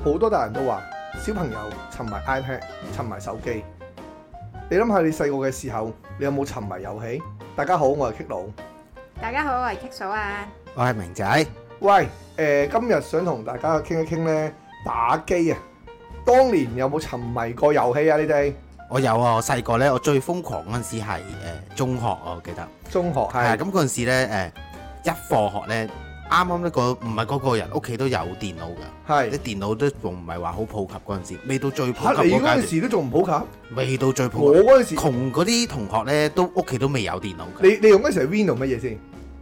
好多大人都話小朋友沉迷 iPad、沉迷手機。你諗下，你細個嘅時候，你有冇沉迷遊戲？大家好，我係 Kick 佬。 大家好，我係 Kick 嫂啊。 我係明仔。 喂，今日想同大家傾一傾咧打機啊。當年有冇沉迷過遊戲啊？你哋？ 我有啊，我細個咧，我最瘋狂嗰陣時係中學啊，我記得。中學係。咁嗰陣時咧一放學咧。啱啱呢個唔係個個人屋企都有電腦㗎，係啲電腦都仲唔係話好普及嗰陣時，未到最普及嗰階段。你嗰陣時都仲唔普及？未到最普及。我嗰陣時窮嗰啲同學咧，都屋企都未有電腦㗎。 你用嗰陣時係 Windows 乜嘢先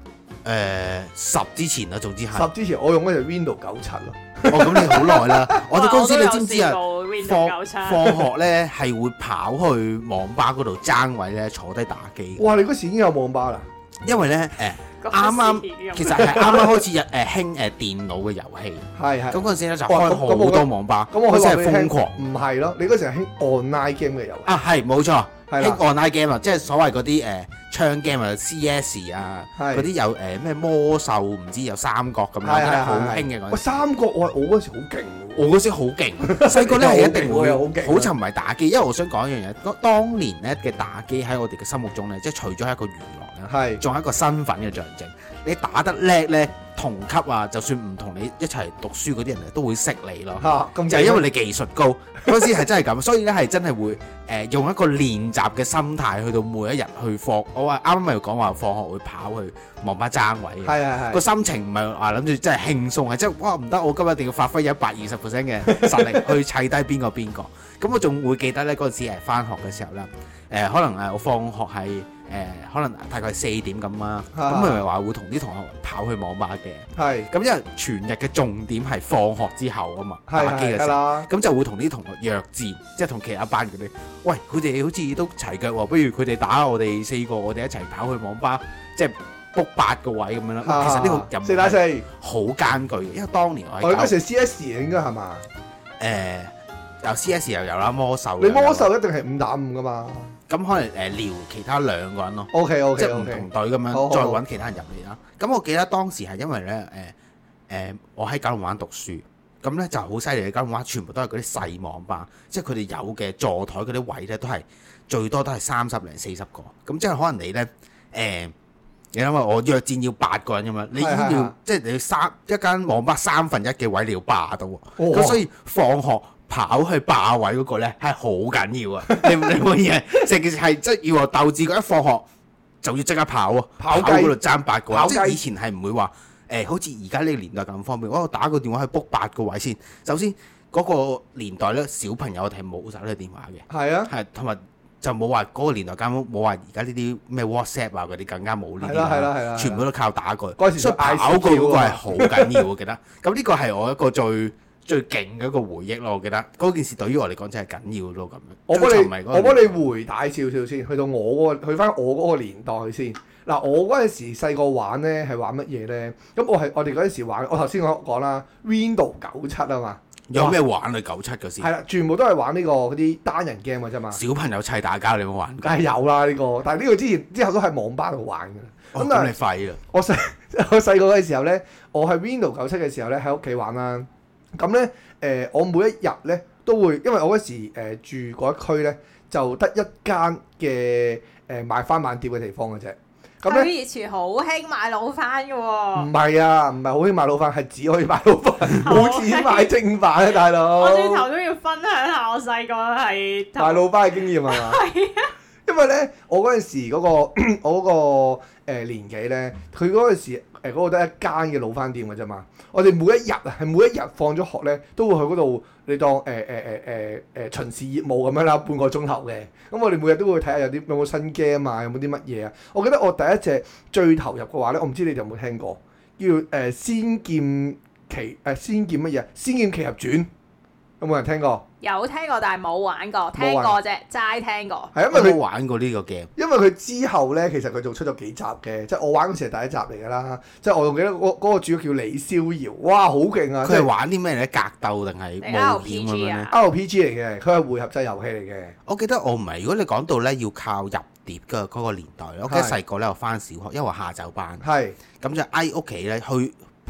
？10之前啦，總之係。10之前我用嗰陣時 Windows 97咯。 哦，咁你好耐啦。我哋嗰陣時你知唔知啊？放學咧係會跑去網吧嗰度爭位咧，坐低打機。 哇！你嗰時已經有網吧啦？ 因為咧啱啱其實係啱啱開始興電腦嘅遊戲，係咁嗰陣時咧就開好多網吧，咁我真係瘋狂。唔係咯，你嗰時係興 online game 嘅遊戲啊，係冇錯，興 online game 啊，即係所謂嗰啲槍 game 啊 CS 啊，嗰啲有咩魔獸唔知有三國咁樣，好興嘅嗰陣。三國我嗰時好勁喎，我嗰時好勁，細個咧係一定會好沉迷打機，因為我想講一樣嘢，當年咧嘅打機喺我哋嘅心目中咧，即係除咗係一個娛樂。係，仲係一個身份嘅象徵。你打得叻咧，同級啊，就算唔同你一齊讀書嗰啲人咧，都會識你咯。就係因為你技術高，嗰時係真係咁，所以咧係真係會用一個練習嘅心態去到每一日去放。我話啱啱咪講話放學會跑去網吧爭位。係。個心情唔係話諗住真係輕鬆，係即係哇唔得，我今日一定要發揮120%嘅實力去砌低邊個邊個。咁我仲會記得咧嗰陣時返學嘅時候啦，可能我放學係。可能大概4點咁啦，咁咪話會同啲同學跑去網吧嘅。係，咁因為全日嘅重點係放學之後啊嘛，打機嘅時候，咁就會同啲同學約戰，即係同其他班嗰啲，喂，佢哋好似都齊腳喎，不如佢哋打我哋4個，我哋一齊跑去網吧，即係 book 8個位咁樣啦。其實呢個任務4打4好艱巨嘅，因為當年我嗰時 CS 應該係嘛？有 CS 又有啦，魔獸。你魔獸一定係5打5噶嘛？咁可能撩其他2個人咯，OK，即係唔同隊咁樣，再揾其他人入嚟啦。咁我記得當時係因為咧我喺九龍灣讀書，咁咧就好犀利嘅，九龍灣全部都係嗰啲細網吧，即係佢哋有嘅坐台嗰啲位咧都係最多都係30零40個。咁即係可能你咧你諗下我約戰要8個人咁樣，你要即係你要一間網吧1/3嘅位你要霸到喎。咁所以放學跑去霸位嗰個咧係好緊要啊！你冇嘢，成件事係即係要鬥志，佢一放學就要即刻跑啊！跑嗰度爭8個，即係以前係唔會話好似而家呢個年代咁方便。我打個電話去 book 8個位先。首先嗰個年代咧，小朋友係冇晒呢個電話嘅。係啊，係同埋就冇話嗰個年代間冇話而家呢啲咩 WhatsApp 啊嗰啲更加冇呢啲。係啦，全部都靠打過。嗰時所以跑過嗰個係好緊要，我記得。咁呢個係我一個最勁嘅一個回憶咯，我記得嗰件事對於我嚟講真係緊要咯咁樣。我幫你回帶少少先，去到去翻我嗰個年代先。嗱，我嗰陣時細個玩咧係玩乜嘢咧？咁我哋嗰陣時玩，我頭先講啦 ，Windows 97啊嘛。有咩玩啊？97嗰時。係啦，全部都係玩呢個嗰啲單人 game 嘅啫嘛。小朋友砌打交你有冇玩過？梗係有啦呢個，但係呢個之後都喺網吧度玩嘅。咁你廢啦！我細個嘅時候咧，我係 Windows 97嘅時候咧喺屋企玩啦。咁咧，我每一日咧都會，因為我嗰時住嗰一區咧，就得一間嘅賣翻版碟嘅地方嘅啫。咁咧，以前好興買老翻嘅喎。唔係啊，唔係好興買老翻，係只可以買老翻，冇錢買正版啊，大佬。我轉頭都要分享下我細個係買老翻嘅經驗係嘛？係啊。因為咧，我嗰陣時我嗰個年紀咧，佢嗰陣時嗰度得一間嘅老翻店嘅啫嘛。我哋每一日放咗學咧，都會去嗰度，你當巡視業務咁樣啦，半個鐘頭嘅。咁我哋每日都會睇下有冇新 game 啊，有冇啲乜嘢啊。我記得我第一隻最投入嘅話咧，我唔知你哋有冇聽過，叫仙劍乜嘢？仙劍奇俠傳。有冇人聽過？有聽過，但係冇玩過。聽過啫，齋聽過。係因為佢冇玩過呢個 game。因為佢之後咧，其實佢仲出咗幾集嘅，即係我玩嗰時係第一集嚟㗎啦。即係我仲記得嗰個主角叫李逍遙，哇，好勁啊！佢係玩啲咩咧？格鬥定係冒險咁樣咧？RPG 嚟嘅，佢係回合制遊戲嚟嘅。我記得我唔係，如果你講到咧要靠入碟嘅嗰個年代，我記得細個咧我翻小學，因為我下晝班，係咁就喺屋企咧去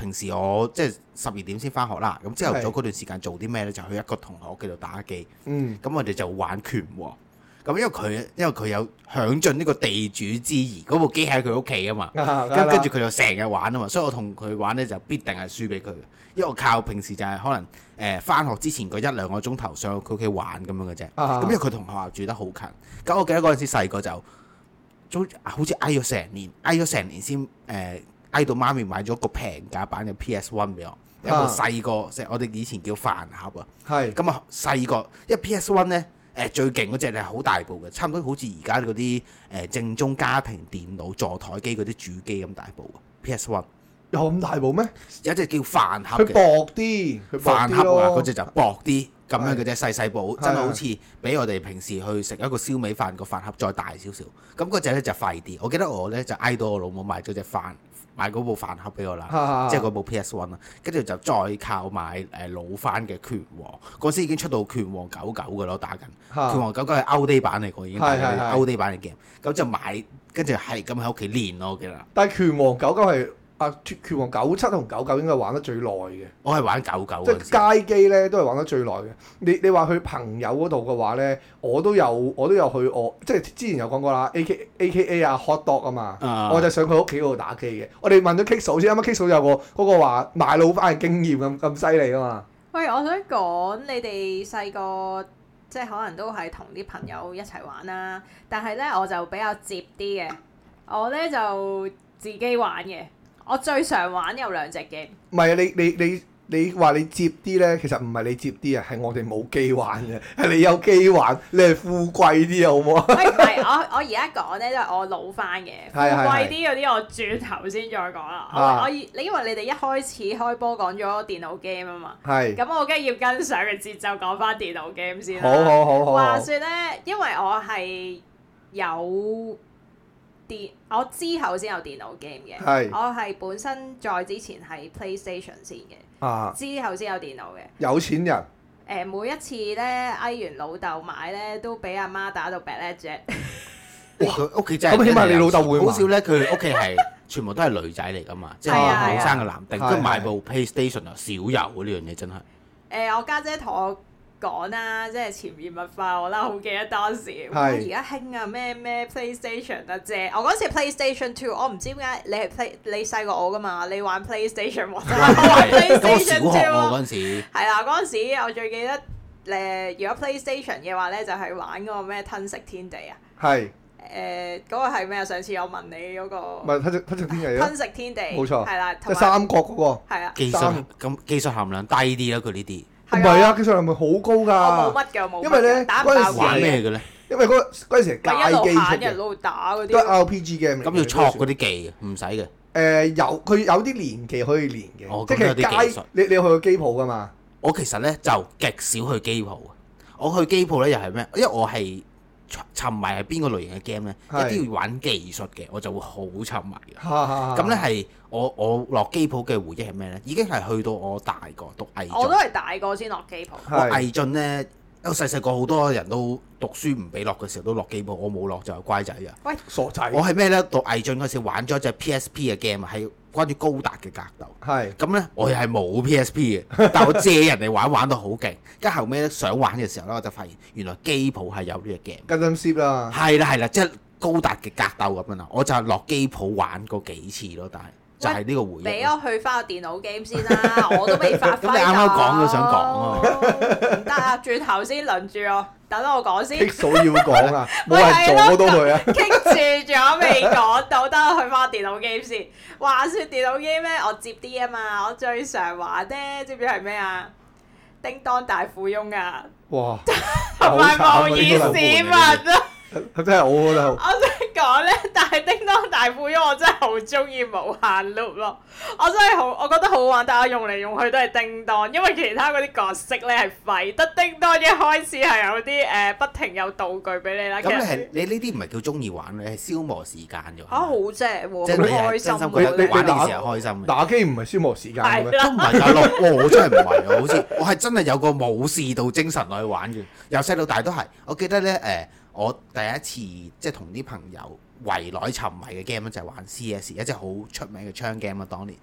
平時我即係12點先翻學啦，咁朝頭早嗰段時間做啲咩呢？就去一個同學屋企度打機。咁我哋就玩拳王。咁因為佢有享盡呢個地主之誼，嗰部機喺佢屋企啊嘛。咁跟住佢就成日玩啊嘛，所以我同佢玩呢，就必定係輸俾佢嘅。因為我靠平時就係可能翻學之前嗰1-2個鐘頭上佢屋企玩咁樣嘅啫。咁因為佢同學校住得好近，咁我記得嗰陣時細個就好似挨咗成年先挨到媽咪買咗個平價版嘅 PS1 俾我，一個細個我哋以前叫飯盒啊。咁啊細個，因為 PS1 呢。最勁嗰隻係好大部嘅，差唔多好似而家嗰啲正宗家庭電腦座台機嗰啲主機咁大部啊。PS1 有咁大部咩？ 有一隻叫飯盒嘅， 佢薄啲， 飯盒啊，嗰隻就薄啲咁樣嘅啫，細部，真係好似比我哋平時去食一個燒味飯個飯盒再大少少。咁嗰隻呢就廢啲。我記得我呢就挨到我老母買咗隻買嗰部飯盒俾我啦，即係嗰部 PS1 啦，跟住就再靠買老翻嘅拳王，嗰時已經出到拳王99嘅咯，打緊拳王99係 Out-Day 版嚟嘅，已經係 Out-Day 版嘅 game，咁就買，跟住係咁喺屋企練咯，我記得。 但係拳王99係。拳王97同99應該玩得最耐嘅。我係玩99，即係街機咧都係玩得最耐嘅。你話去朋友嗰度嘅話咧，我都有去即係之前有講過啦，AKA 啊 Hot Dog 啊嘛，我就上佢屋企嗰度打機嘅。我哋問咗 Kick 嫂先，啱啱 Kick 嫂有個嗰個話買老翻嘅經驗咁犀利啊嘛。喂，我想講你哋細個即係可能都係同啲朋友一齊玩啦，但係咧我就比較接啲嘅，我咧就自己玩嘅。我最常玩有2隻 game。唔係啊，你話你接啲咧，其實唔係你接啲啊，係我哋冇機玩嘅，係你有機玩，你係富貴啲啊，好唔好啊？唔係，我而家講咧都係我老翻嘅，富貴啲嗰啲我轉頭先再講啦。因為你哋一開始開波講咗電腦 game 啊嘛，咁我梗係要跟上嘅節奏講翻電腦 game 先啦。好。話說咧，因為我係有。我之後先有電腦 game 嘅，我係本身在之前係 PlayStation 先嘅，之後先有電腦嘅。有錢人。每一次咧，嗌完老豆買咧，都俾阿媽打到 bad 啫。佢屋企真係咁，起碼你老豆會好少咧。佢屋企係全部都係女仔嚟噶嘛，即係後生嘅男丁，跟住買部 PlayStation 啊，少有呢樣嘢真係。我家姐同我講啦，即係潛移默化，我覺得好記得當時。而家興啊咩 PlayStation 啊姐，我嗰時 PlayStation 2，我唔知點解你細過我噶嘛，你玩 PlayStation 1，我玩 PlayStation 2喎。嗰陣時係啦，嗰陣時我最記得如果 PlayStation 嘅話咧，就係玩嗰個咩吞食天地啊。係。嗰個係咩啊？上次我問你嗰個。唔係吞食天地啊。吞食天地。冇錯。係啦。即係三國嗰個。係啊。技術含量低啲啦，佢呢啲。唔係啊，技術係咪好高㗎？我冇乜㗎，冇。因為咧嗰陣時玩咩嘅咧？因為嗰陣時係街機出嘅。一路打嗰啲。都係 RPG game。咁要錯嗰啲技唔使嘅。佢有啲連技可以連嘅，即係街。你有去過機鋪㗎嘛？我其實咧就極少去機鋪。我去機鋪咧又係咩？因為我係沉迷係邊個類型嘅 game 咧？一啲要玩技術嘅，我就會好沉迷嘅。咁咧係。我落機鋪嘅回憶係咩呢？已經係去到我大個讀藝進。我都係大個先落機鋪。我藝進呢，因為細個好多人都讀書唔俾落嘅時候都落機鋪，我冇落就係乖仔啊。喂，傻仔！我係咩呢？讀藝進嗰時玩咗隻 PSP 嘅 game，係關於高達嘅格鬥。係。咁呢，我又係冇 PSP 嘅，但我借人哋玩到好勁。跟後尾咧想玩嘅時候呢，我就發現原來機鋪係有呢隻 game。跟進 ship 啦。係啦，即係高達嘅格鬥咁樣啦。我就係落機鋪玩過幾次咯，但係。就係呢個回憶。俾我去翻個電腦 game 先啦，我都未發揮。咁你啱啱講都想講啊？唔得啊，轉頭先輪住我，等我講先。棘數要講啊，冇人阻到佢啊。棘住咗未講到，等我去翻電腦 game 先。話説電腦 game 咧，我接啲啊嘛，我最常玩咧，知唔知係咩啊？叮當大富翁啊！哇，同埋模擬市民啊！真係我覺得。我想講咧，但係叮當大富翁我真係好中意無限 loop 咯，我覺得好玩，但係用嚟用去都係叮當，因為其他嗰啲角色咧係廢，得叮當一開始係有啲不停有道具俾你啦。咁你呢啲唔係叫中意玩，你係消磨時間啫。好正喎，即係開心。你玩嘅時候開心。打機唔係消磨時間嘅咩？都唔係㗎咯，我真係唔係啊，好似我係真係有個武士道精神落去玩嘅，由細到大都係。我記得咧我第一次即係同啲朋友圍內沉迷嘅 game 就係玩 CS， 一隻好出名嘅槍 game 啦。當年咁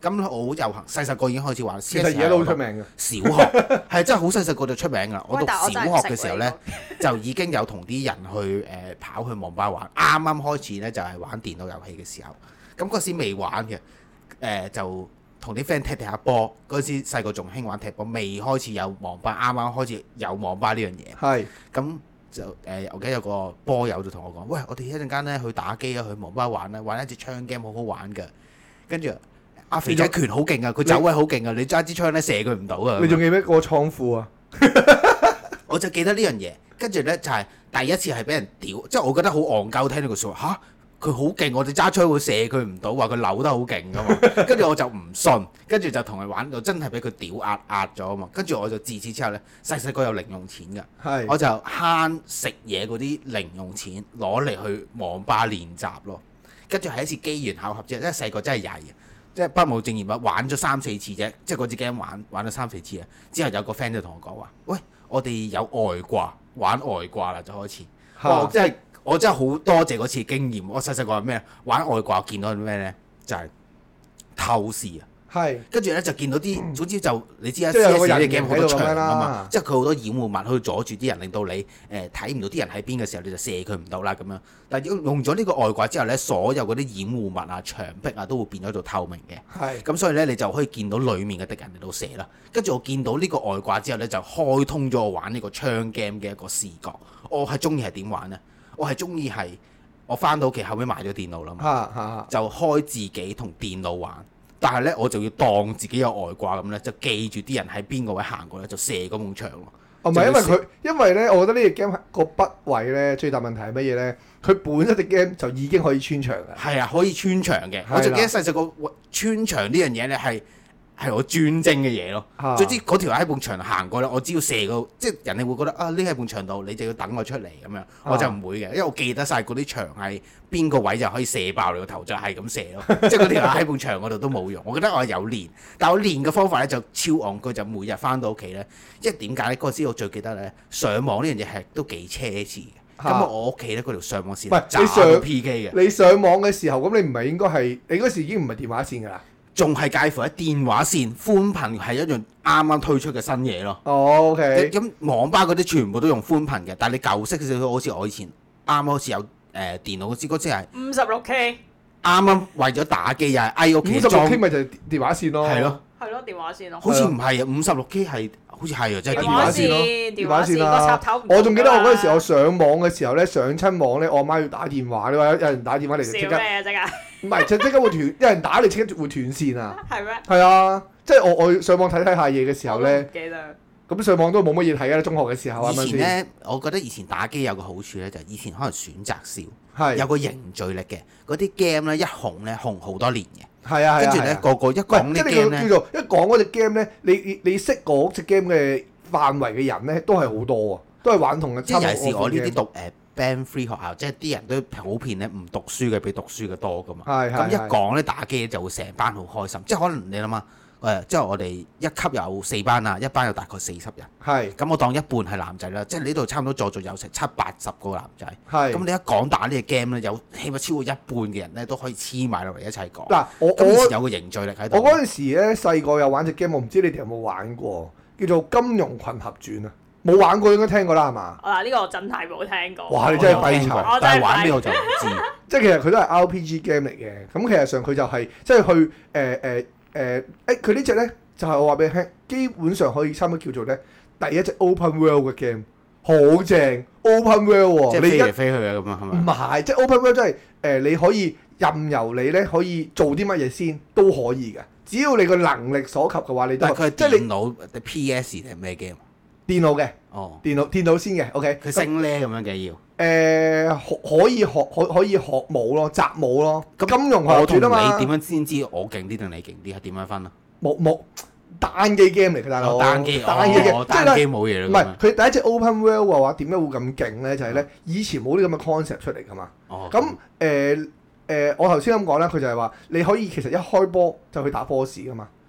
咁我好有幸，細細個已經開始玩。 其實而家都好出名嘅。 小學係真係好細細個就出名㗎。我讀小學嘅時候咧，就已經有同啲人去跑去網吧玩。啱啱開始咧就係玩電腦遊戲嘅時候，咁嗰時未玩嘅，就同啲 friend 踢下波。嗰時細個仲興玩踢波，未開始有網吧，啱啱開始有網吧呢樣嘢。係。咁就我記得有個波友就同我講：喂，我哋一陣間咧去打機啊，去網吧玩啦，玩一隻槍 game 好好玩㗎。跟住阿肥仔拳好勁啊，佢走位好勁啊，你揸支槍咧射佢唔到啊！ 你仲記唔記得個倉庫啊？ 我就記得呢樣嘢，跟住咧就係第一次係俾人屌，即係我覺得好戇鳩，聽到句説話嚇。佢好勁，我哋揸槍會射佢唔到，話佢扭得好勁噶嘛。跟住我就唔信，跟住就同佢玩，就真係俾佢屌壓咗啊嘛。跟住我就自此之後呢，細個有零用錢㗎，我就慳食嘢嗰啲零用錢攞嚟去網吧練習咯。跟住係一次機緣巧合啫，因為細個真係曳嘅，即係不務正業玩咗3-4次啫，即係嗰支 game玩咗3-4次啊。之後有個 friend 就同我講話：喂，我哋有外掛，玩外掛啦，就開始。我真係好多謝嗰次經驗。我細細個係咩？玩外掛見到係咩呢？就係透視啊！跟住呢，就見到啲，總之就你知啊，CS 啲 game 好多牆啊嘛，即係佢好多掩護物去阻住啲人，令到你睇唔到啲人喺邊嘅時候，你就射佢唔到啦咁樣。但係用咗呢個外掛之後呢，所有嗰啲掩護物啊、牆壁啊都會變咗做透明嘅。咁所以呢，你就可以見到裡面嘅敵人嚟到射啦。跟住我見到呢個外掛之後呢，就開通咗我玩呢個槍 game 嘅一個視覺。我係中意係點玩呢？我係中意係我翻到屋企後尾買咗電腦啦嘛，就開自己同電腦玩，但係呢，我就要當自己有外掛咁呢，就記住啲人喺邊個位行過呢，就射嗰埲牆咯。唔係因為呢，我覺得呢隻 game 個筆位呢，最大問題係乜嘢呢？佢本身隻 game 就已經可以穿牆嘅。係啊，可以穿牆嘅。我就記得細細個穿牆呢樣嘢呢係我專精嘅嘢咯。總之嗰條喺埲牆行過咧，我只要射個，即係人哋會覺得啊，呢喺埲牆度，你就要等我出嚟咁樣，我就唔會嘅，因為我記得晒嗰啲牆係邊個位就可以射爆你個頭，就係咁射咯。即係嗰條喺埲牆嗰度都冇用。我覺得我係有練，但我練嘅方法咧就超戇居，就每日翻到屋企咧，即係點解咧？嗰陣時我最記得咧，上網呢樣嘢係都幾奢侈嘅。咁我屋企咧嗰條上網線你上 PK 嘅。你上網嘅時候，咁你唔係應該係你嗰時已經唔係電話線㗎啦。 仲係介乎喺電話線寬頻係一樣啱啱推出嘅新嘢咯。 OK。 咁網吧嗰啲全部都用寬頻嘅，但係你舊式嘅好似我以前啱啱好似有電腦嗰支係 56K。 啱啱為咗打機又係喺屋企裝。 56K 咪就係電話線咯。 係咯。 係咯，電話線咯。 好似唔係啊，56K 係好似係啊，即係電話線咯。電話線個插頭唔同。 我仲記得我嗰陣時我上網嘅時候咧，上親網咧，我阿媽要打電話，你話有人打電話嚟就即刻。 笑咩啊？即刻。 唔係，即刻會斷，有人打你即刻會斷線啊！ 係咩？ 係啊，即係我上網睇下嘢嘅時候咧， 記得。 咁上網都冇乜嘢睇啊！中學嘅時候啊， 以前咧，我覺得以前打機有個好處咧，就係以前可能選擇少，有個凝聚力嘅。嗰啲 game 咧一紅咧紅好多年嘅。 係啊， 跟住咧個個一講呢 game 咧， 叫做一講嗰隻 game 咧，你識嗰隻 game 嘅範圍嘅人咧，都係好多啊，都係玩同嘅。 即係尤其是我呢啲讀Band 3學校，即係啲人都普遍咧唔讀書嘅比讀書嘅多噶嘛。咁一講咧打機就會成班好開心，即係可能你諗下，即係我哋一級有4班啦，一班有大概40人。咁我當一半係男仔啦，即係呢度差唔多座有成70-80個男仔。咁你一講打呢個 game 咧，有起碼超過一半嘅人咧都可以黐埋落嚟一齊講。嗱，我有個凝聚力喺度。 我嗰陣時咧細個有玩隻 game，我唔知你哋有冇玩過，叫做《金庸群俠傳》啊。冇玩過應該聽過啦，係嘛？ 呢個我真係冇聽過。 哇！你真係廢柴， 但係玩呢個就唔知。 即係其實佢都係 RPG game 嚟嘅。咁其實上佢就係即係去佢呢隻咧就係我話俾你聽，基本上可以差唔多叫做咧第一隻 open world 嘅 game，好正 open world 喎。 即係飛嚟飛去啊咁啊，係咪？ 唔係，即係 open world 即係你可以任由你咧可以做啲乜嘢先都可以嘅，只要你個能力所及嘅話，你都。 但係佢係電腦定 PS 定係咩 game？ 電腦嘅，電腦先嘅 ，OK。 佢升呢咁樣嘅要。 可以學武咯，習武咯。咁金庸學傳啊嘛。 你點樣先知我勁啲定你勁啲？係點樣分啊？ 冇單機 game 嚟嘅大佬。單機冇嘢啦。 唔係佢第一隻 open world 嘅話，點解會咁勁咧？就係咧，以前冇呢咁嘅 concept 出嚟噶嘛。咁我頭先咁講咧，佢就係話你可以其實一開波就去打 boss 噶嘛。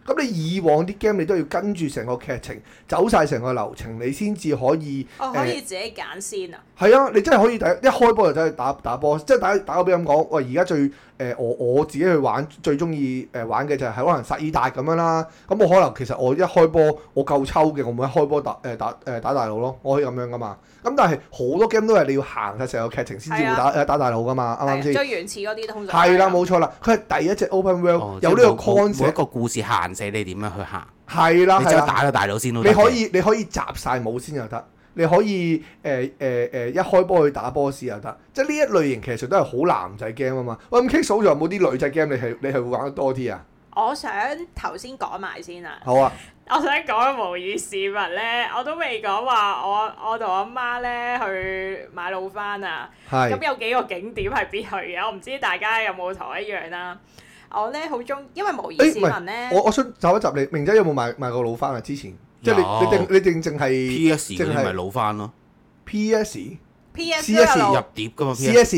咁你以往啲 game 你都要跟住成個劇情走晒成個流程，你先至可以。 可以自己揀先啊！ 係啊，你真係可以一開波就走去打波，即係打個比咁講。喂，而家最我自己去玩最中意玩嘅就係可能薩爾達咁樣啦。咁我可能其實我一開波我夠抽嘅，我咪一開波打大佬咯，我可以咁樣噶嘛。咁但係好多 game 都係你要行晒成個劇情先至會打大佬噶嘛，啱啱先？ 最原始嗰啲通常係啦，冇錯啦，佢係第一隻 open world 有呢個 concept， 每一個故事限死你點樣去行。 係啦， 你只打個大佬先都得。 你可以集晒武先又得。你可以一開波去打 boss 又得，即係呢一類型其實都係好男仔 game 啊嘛。喂，咁 Kick 嫂仲有冇啲女仔 game 你係會玩得多啲啊？ 我想頭先講埋先啊。 好啊。 我想講模擬市民咧，我都未講話我同阿媽咧去買老番啊。係。咁有幾個景點係必去嘅，我唔知大家有冇同我一樣啦。我咧好中，因為模擬市民咧。 我想就一集你，明仔有冇買過老番啊？之前？即係你定淨係 PS 嗰啲咪老翻咯 ？PS 入碟噶嘛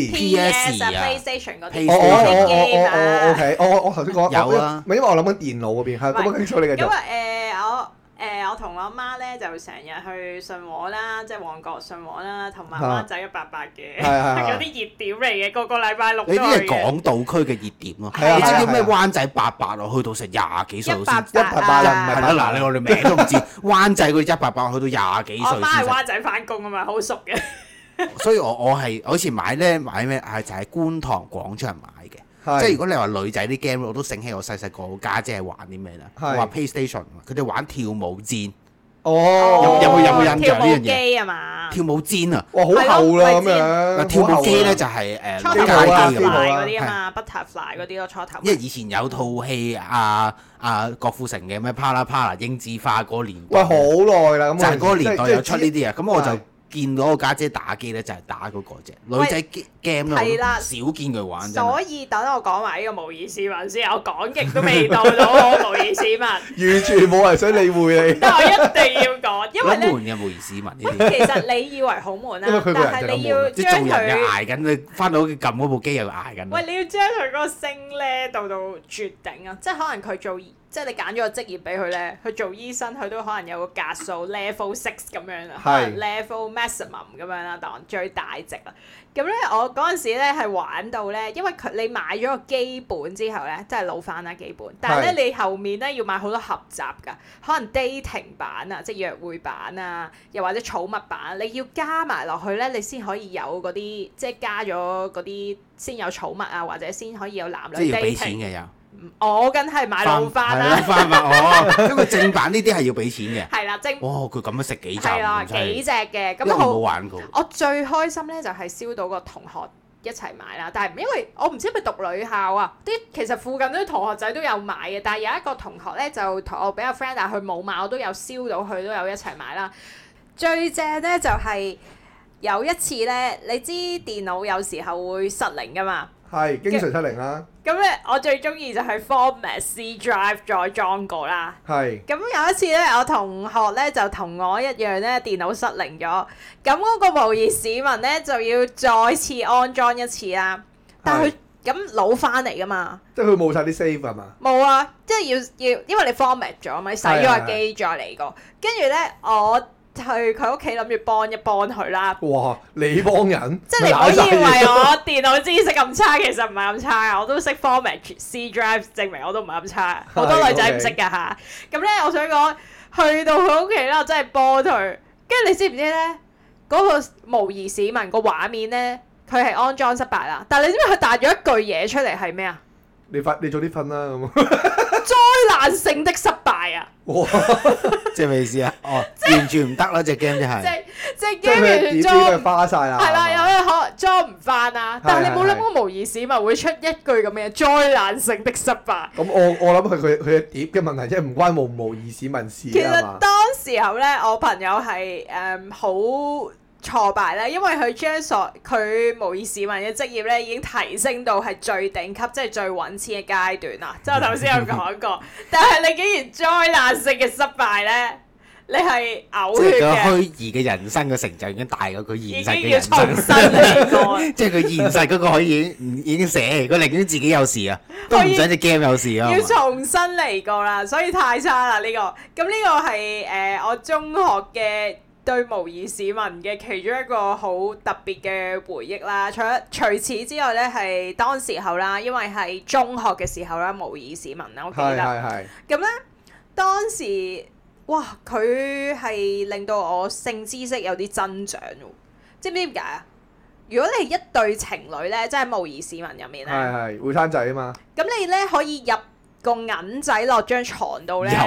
？PS 啊 PlayStation 嗰啲。 OK，我頭先講有啊，唔係因為我諗緊電腦嗰邊，係咁清楚你嘅。 因為我同我媽咧就成日去信和啦，即係旺角信和啦，同埋灣仔188嘅，係嗰啲熱點嚟嘅，個禮拜六都去嘅。 你啲係港島區嘅熱點咯，你知唔知咩灣仔88啊？去到成廿幾歲先 188啊！ 係啦，嗱你我哋名都唔知，灣仔嗰啲188去到廿幾歲先。 我媽喺灣仔翻工啊嘛，好熟嘅。 所以我好似買咩就係觀塘廣場買嘅。即係如果你話女仔啲 game，我都醒起我細細個家姐係玩啲咩啦？我話 PlayStation， 佢哋玩跳舞氈。哦，有冇印象呢樣嘢？跳舞機啊嘛？ 跳舞氈啊！ 哇，好厚啦咁樣。 跳舞機咧就係初頭玩機嗰啲啊嘛，Butterfly 嗰啲咯，初頭。 因為以前有套戲郭富城嘅咩《啪啦啪啦》英姿花嗰個年代。 喂，好耐啦，咁就係嗰個年代有出呢啲啊，咁我就。見到我家姐打機咧，就係打嗰個啫。女仔 game 咧，少見佢玩。 所以等我講埋呢個模擬市民先，我講極都未到我模擬市民。完全冇人想理會你。 但我一定要講，因為咧。 好悶嘅模擬市民呢啲。其實你以為好悶啦，但係你要將佢。 做人又捱緊，你翻到屋企撳嗰部機又捱緊。 喂，你要將佢嗰個升咧到絕頂啊！即係可能佢做。即係你揀咗個職業俾佢咧，去做醫生，佢都可能有個格數 level 6咁樣啦，可能 level maximum 咁樣啦，當最大值啦。咁咧，我嗰陣時咧係玩到咧，因為你買咗個基本之後咧，即係老翻啦基本，但係咧你後面咧要買好多合集㗎，可能 dating 版啊，即係約會版啊，又或者寵物版，你要加埋落去咧，你先可以有嗰啲，即係加咗嗰啲先有寵物啊，或者先可以有男女 dating。即係要俾錢嘅有。我梗係買老番啦， 因為正版呢啲係要俾錢嘅。 係啦， 佢咁樣食幾集？ 係啦，幾隻嘅。咁我冇玩過。 我最開心咧就係燒到個同學一齊買啦，但係因為我唔知係咪讀女校啊，其實附近啲同學仔都有買嘅，但係有一個同學咧就同我比較 friend，但係佢冇買，我都有燒到佢都有一齊買啦。最正咧就係有一次咧，你知電腦有時候會失靈噶嘛？ 係，經常失靈啦。 咁咧，我最中意就係 format C drive 再裝過啦。係。咁有一次咧，我同學咧就同我一樣咧，電腦失靈咗。咁嗰個模擬市民咧就要再次安裝一次啦。但係佢咁老翻嚟噶嘛？ 即係佢冇晒啲 save 係嘛？ 冇啊！即係要，因為你 format 咗咪洗咗個機再嚟過。跟住咧，我去佢屋企諗住幫一幫佢啦。哇！ 你幫人？ 即係你唔好以為我電腦知識咁差，其實唔係咁差啊！我都識 format C drive，證明我都唔係咁差。好多女仔唔識㗎嚇。咁咧，我想講去到佢屋企咧，我真係幫佢。跟住你知唔知咧？嗰個模擬市民個畫面咧，佢係安裝失敗啦。但係你知唔知佢彈咗一句嘢出嚟係咩啊？ 你早啲瞓啦咁。 災難性的失敗啊！ 哇！即係咩意思啊？哦，完全唔得啦！隻 game 真係。 隻 game 完全裝花晒啦。 係啦，有啲可能裝唔翻啊！但係你冇諗過模擬市民會出一句咁嘅災難性的失敗。 咁我諗佢嘅碟嘅問題，即係唔關模擬市民事。 其實當時候咧，我朋友係好挫敗咧，因為佢將佢模擬市民嘅職業咧已經提升到係最頂級，即係最揾錢嘅階段啦。即係我頭先有講過，但係你竟然災難性嘅失敗咧， 你係嘔血嘅。 即係佢虛擬嘅人生嘅成就已經大過佢現實嘅人生。 重新嚟過。 即係佢現實嗰個可以已經寫，佢寧願自己有事啊，都唔想隻 game 有事啊。 要重新嚟過啦，所以太差啦呢個。咁呢個係我中學嘅對模擬市民嘅其中一個好特別嘅回憶啦。除此之外咧，係當時候啦，因為係中學嘅時候啦，模擬市民啦，我記得。係。咁咧，當時哇，佢係令到我性知識有啲增長喎。知唔知點解啊？如果你係一對情侶咧，即係模擬市民入面咧， 係會生仔啊嘛。 咁你咧可以入個銀仔落張床度咧，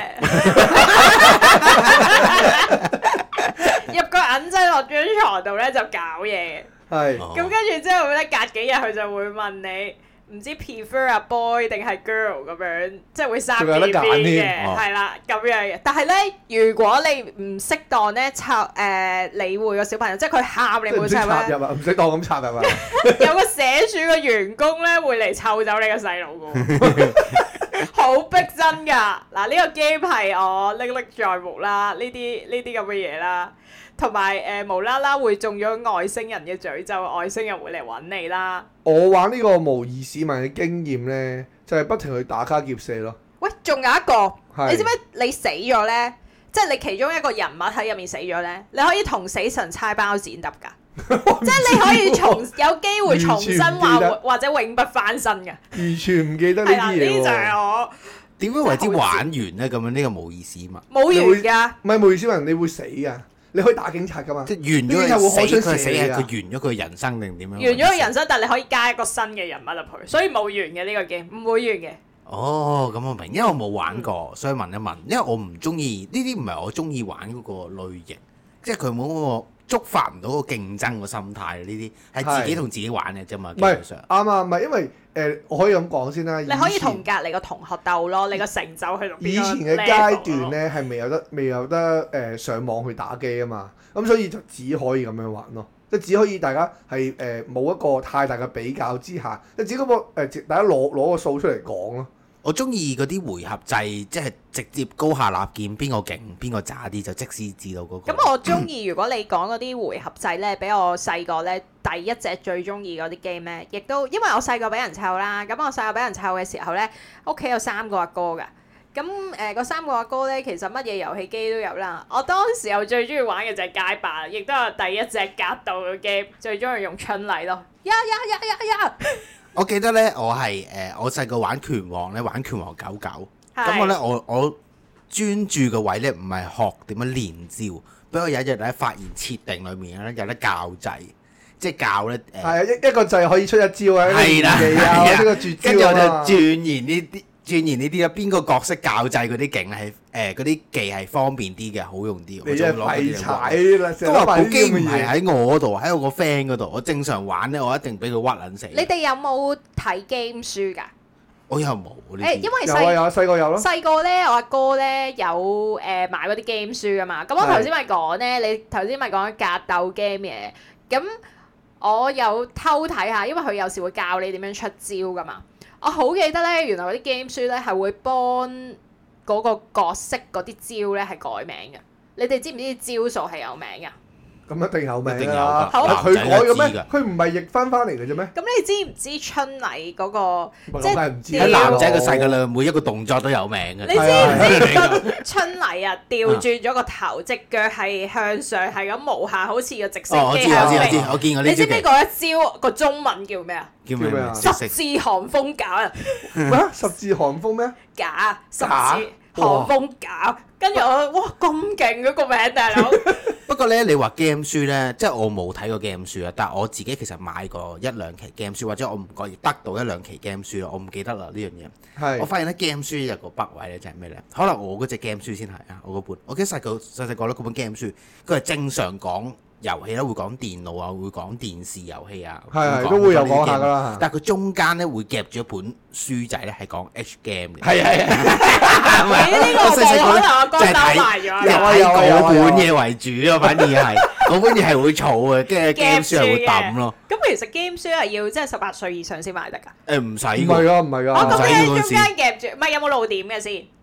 入個銀仔落張床度咧就搞嘢。係。咁跟住之後咧，隔幾日佢就會問你。唔知 prefer 啊 boy 定係 girl 咁樣，即係會生 BB 嘅，係啦咁樣嘅。但係咧，如果你唔適當咧理會個小朋友，即係佢喊你會插入啊，唔適當咁插入啊。 有個社署嘅員工咧會嚟湊走你個細路嘅，好逼真㗎。嗱，呢個 game 係我歷歷在目啦，呢啲咁嘅嘢啦。同埋無啦啦會中咗外星人嘅詛咒，外星人會嚟揾你啦。 我玩呢個模擬市民嘅經驗呢，就係不停去打卡劫舍咯。 喂，仲有一個，你知唔知你死咗呢？即係你其中一個人物喺入面死咗呢，你可以同死神猜包剪揼㗎。即係你可以有機會重新或者永不翻身㗎。完全唔記得呢啲嘢喎。 呢就係我點樣為之玩完呢？咁樣呢個模擬市民冇完㗎。 唔係模擬市民，你會死㗎。你可以打警察噶嘛？ 即係完咗佢死係佢完咗佢人生定點樣？ 完咗佢人生，但係你可以加一個新嘅人物入去，所以冇完嘅呢個 game，唔會完嘅。 哦，咁我明，因為我冇玩過，所以問一問。因為我唔中意呢啲，唔係我中意玩嗰個類型，即係佢冇嗰個觸發唔到個競爭個心態。呢啲係自己同自己玩嘅啫嘛。 唔係啱啊，唔係因為我可以咁講先啦。 你可以同隔離個同學鬥咯，你個成就去到邊個 level 咯。以前嘅階段咧係未有得上網去打機啊嘛，咁所以就只可以咁樣玩咯，即係只可以大家係冇一個太大嘅比較之下，即係只不過大家攞個數出嚟講咯。 我中意嗰啲回合制，即係直接高下立見，邊個勁邊個渣啲就即時知道嗰個。 咁我中意如果你講嗰啲回合制咧，俾我細個咧第一隻最中意嗰啲 game 咧，亦都因為我細個俾人湊啦，咁我細個俾人湊嘅時候咧，屋企有3個阿哥㗎。咁嗰3個阿哥咧，其實乜嘢遊戲機都有啦。我當時我最中意玩嘅就係街霸，亦都係第一隻格鬥嘅 game，最中意用春麗咯。 我記得咧，我係我細個玩拳王咧，玩拳王99。咁我咧，我專注嘅位咧，唔係學點樣練招，俾我有一日咧發現設定裏面咧有得教掣，即係教咧係啊，一個掣可以出一招啊， 係啦， 呢個絕招啊，跟住我就鑽研呢啲啊，邊個角色教掣嗰啲勁係嗰啲技係方便啲嘅，好用啲。 你真係廢柴啦！ 因為部機唔係喺我嗰度，喺我個 friend 嗰度。我正常玩咧，我一定俾佢屈撚死。 你哋有冇睇 game 書㗎？ 我又冇呢啲。 因為有細個有咯。 細個咧，我阿哥咧有買嗰啲 game 書㗎嘛。咁我頭先咪講咧，你頭先咪講格鬥 game 嘅。咁我有偷睇下，因為佢有時會教你點樣出招㗎嘛。我好記得咧，原來嗰啲 game 書咧係會幫嗰個角色嗰啲招咧係改名嘅。你哋知唔知招數係有名㗎？ 咁一定有名啦！佢改嘅咩？佢唔係譯翻嚟嘅啫咩？ 咁你知唔知春麗嗰個即係唔知喺男仔嘅世界裏，每一個動作都有名嘅。 你知唔知個春麗啊？調轉咗個頭，隻腳係向上，係咁無下，好似個直升機喺度飛。 我見過呢招。 你知唔知嗰一招個中文叫咩啊？ 叫咩啊？ 十字寒風架啊！ 咩？十字寒風咩？ 架十字寒風架。跟住我哇咁勁嗰個名大佬！ 不過咧，你話 game 書咧，即係我冇睇過 game 書啊，但係我自己其實買過1-2期 game 書，或者我唔覺意得到1-2期 game 書咯，我唔記得啦呢樣嘢。係。我發現咧 game 書有個 bug 位咧，就係咩咧？可能我嗰隻 game 書先係啊，我嗰本。我記得細個咧嗰本 game 書，佢係正常講遊戲咧，會講電腦啊，會講電視遊戲啊， 係都會有講下㗎啦。 但係佢中間咧會夾住一本書仔咧，係講 H game 嘅。 係。呢個可能我剛收埋咗。 睇嗰本嘢為主咯，反而係嗰本嘢係會儲嘅，跟住 game 書係會抌咯。 咁其實 game 書係要即係18歲以上先買得㗎？ 唔使。 唔係㗎。 咁喺中間夾住，唔係有冇露點嘅先？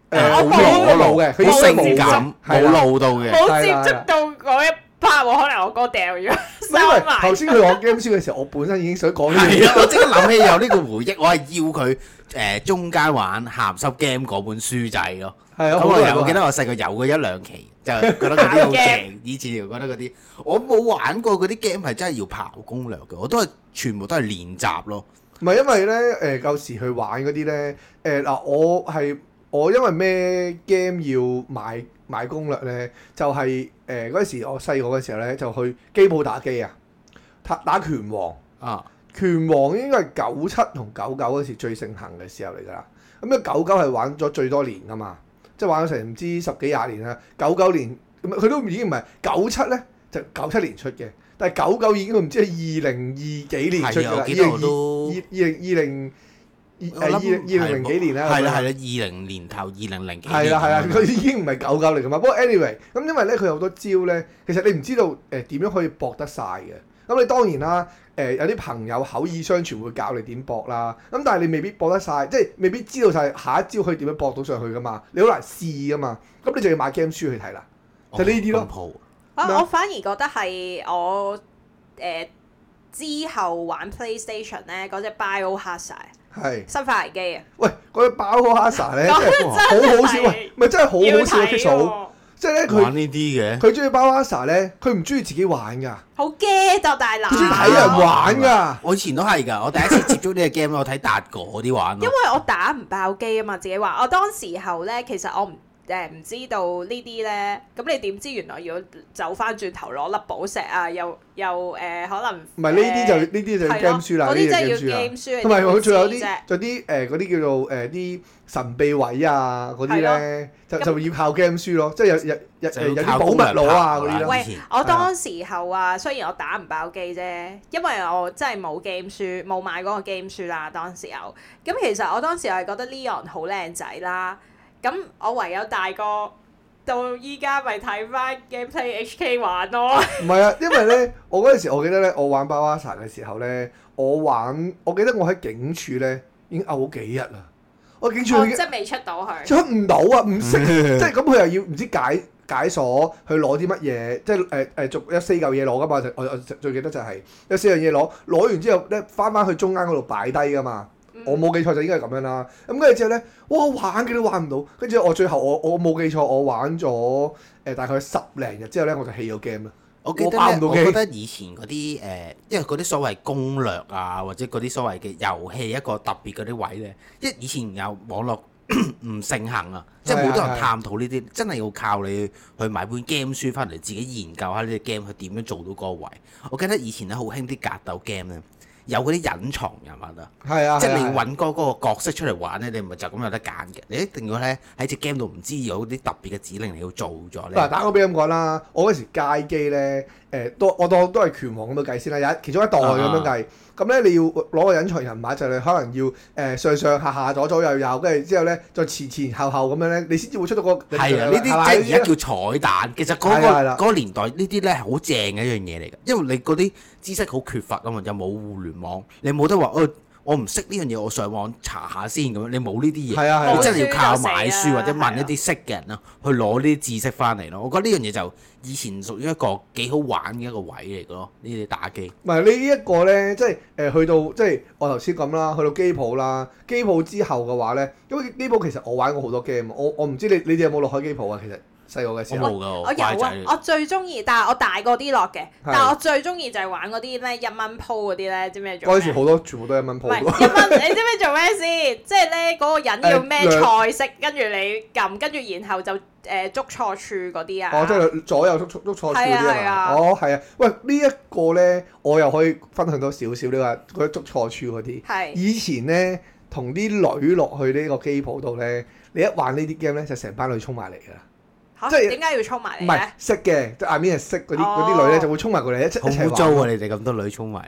冇露嘅，佢好性感，冇露到嘅， 冇接觸到嗰一 part 喎，可能我哥掉咗。 因為頭先佢講 game show 嘅時候，我本身已經想講呢樣嘢， 我即刻諗起有呢個回憶，我係要佢中間玩鹹濕 game 嗰本書仔咯。係啊，我記得我細個有過一兩期，就覺得嗰啲好正。以前又覺得嗰啲，我冇玩過嗰啲 game 係真係要刨攻略嘅，我都係全部都係練習咯。 唔係因為咧舊時去玩嗰啲咧嗱，我因為咩 game 要買攻略咧，就係嗰陣時我細個嘅時候咧，就去機鋪打機啊，打拳王啊，拳王應該係97同99嗰時最盛行嘅時候嚟㗎啦。咁咧99係玩咗最多年㗎嘛，即係玩咗成唔知10幾20年啦。99年佢都已經唔係97咧，就97年出嘅，但係99已經唔知係2020幾年出㗎啦。2020幾年啦， 係啦，20年頭2000幾年。 係啦，佢已經唔係99嚟㗎嘛。不過 anyway， 咁因為咧佢有好多招咧，其實你唔知道點樣可以搏得晒嘅。咁你當然啦，有啲朋友口耳相傳會教你點搏啦。咁但係你未必搏得晒，即係未必知道晒下一招可以點樣搏到上去㗎嘛。你好難試㗎嘛。咁你就要買 game 書去睇啦，就呢啲咯。 我反而覺得係我之後玩 PlayStation 咧嗰隻 Biohazard。係生化危機啊！ 喂，嗰隻Biohazard咧，真係好好笑，喂，咪真係好好笑嘅 Kiss，即係咧佢玩呢啲嘅， 佢中意Biohazard咧，佢唔中意自己玩㗎， 好驚就大佬， 佢中意睇人玩㗎。 我以前都係㗎，我第一次接觸呢個 game， 我睇達哥啲玩。 因為我打唔爆機啊嘛，自己話我當時候咧，其實我唔知道呢啲咧，咁你點知原來要走翻轉頭攞粒寶石啊？又可能唔係呢啲就 game 書啦， 嗰啲真係要 game 書。 同埋佢仲有啲嗰啲叫做啲神秘位啊嗰啲咧，就要靠 game 書咯，即係有啲寶物攞啊嗰啲咯。 喂，我當時候啊，雖然我打唔爆機啫，因為我真係冇 game 書，冇買嗰個 game 書啦。當時候咁，其實我當時係覺得 Leon 好靚仔啦。咁我唯有大個到依家咪睇翻 Gameplay HK 玩咯。 唔係啊，因為咧，我嗰陣時我記得咧，我玩 Biohazard 嘅時候咧，我記得我喺警署咧已經漚咗幾日啦。我警署已經即係未出到去， 出唔到啊，唔識即係咁佢又要唔知解鎖去攞啲乜嘢，即係逐有4嚿嘢攞噶嘛。我最記得就係有4樣嘢攞完之後咧，翻去中間嗰度擺低噶嘛。我冇記錯就應該係咁樣啦。咁跟住之後咧，哇玩嘅都玩唔到。跟住我最後我冇記錯，我玩咗大概10零日之後咧，我就棄咗 game 啦。 我覺得以前嗰啲因為嗰啲所謂攻略啊，或者嗰啲所謂嘅遊戲一個特別嗰啲位咧，因為以前有網絡唔盛行啊，即係好多人探討呢啲，真係要靠你去買本 game 書翻嚟自己研究下呢隻 game 佢點樣做到嗰個位。我記得以前咧好興啲格鬥 game 咧。有嗰啲隱藏人物啊，即係你揾嗰個角色出嚟玩咧，你唔係就咁有得揀嘅，你一定要咧喺隻 game 度唔知有啲特別嘅指令你要做咗咧。嗱， 打個比咁講啦，我嗰時街機咧，我當都係拳王咁樣計先啦，有其中一代咁樣計。咁咧你要攞個隱藏人物就係可能要上上下下左左右右，跟住之後咧再前後後咁樣咧，你先至會出到個。 係啊，呢啲即係而家叫彩蛋。其實嗰個年代呢啲咧係好正嘅一樣嘢嚟嘅，因為你嗰啲知識好缺乏啊嘛，又冇互聯網，你冇得話我唔識呢樣嘢，我上網查下先咁樣，你冇呢啲嘢，你真係要靠買書或者問一啲識嘅人啦，去攞呢啲知識翻嚟咯。我覺得呢樣嘢就以前屬於一個幾好玩嘅一個位嚟嘅咯，呢啲打機。 唔係呢一個咧，即係去到即係我頭先咁啦，去到機鋪啦，機鋪之後嘅話咧，因為機鋪其實我玩過好多 game，我唔知你哋有冇落開機鋪啊？其實。細個嘅時候， 我有啊！我最中意，但係我大個啲落嘅。但係我最中意就係玩嗰啲咧1蚊鋪嗰啲咧，知咩做？ 嗰陣時好多全部都1蚊鋪。 唔係1蚊，你知唔知做咩先？即係咧嗰個人要咩菜式，跟住你撳，跟住然後就捉錯處嗰啲啊。 哦，即係左右捉錯處嗰啲啊。哦，係啊。喂，呢一個咧，我又可以分享到少少呢個嗰啲捉錯處嗰啲。係。以前咧，同啲女落去呢個機鋪度咧，你一玩呢啲 game 咧，就成班女衝埋嚟㗎啦。 即係點解要衝埋嚟？ 唔係識嘅，即係下面係識嗰啲女咧，就會衝埋過嚟一齊玩。 好污糟啊！你哋咁多女衝埋，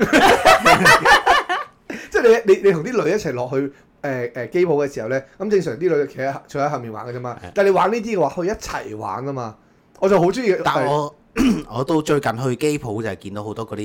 即係你同啲女一齊落去機鋪嘅時候咧，咁正常啲女企喺坐喺後面玩嘅啫嘛。但係你玩呢啲嘅話，可以一齊玩啊嘛。我就好中意。 但係我到最近去機鋪就係見到好多嗰啲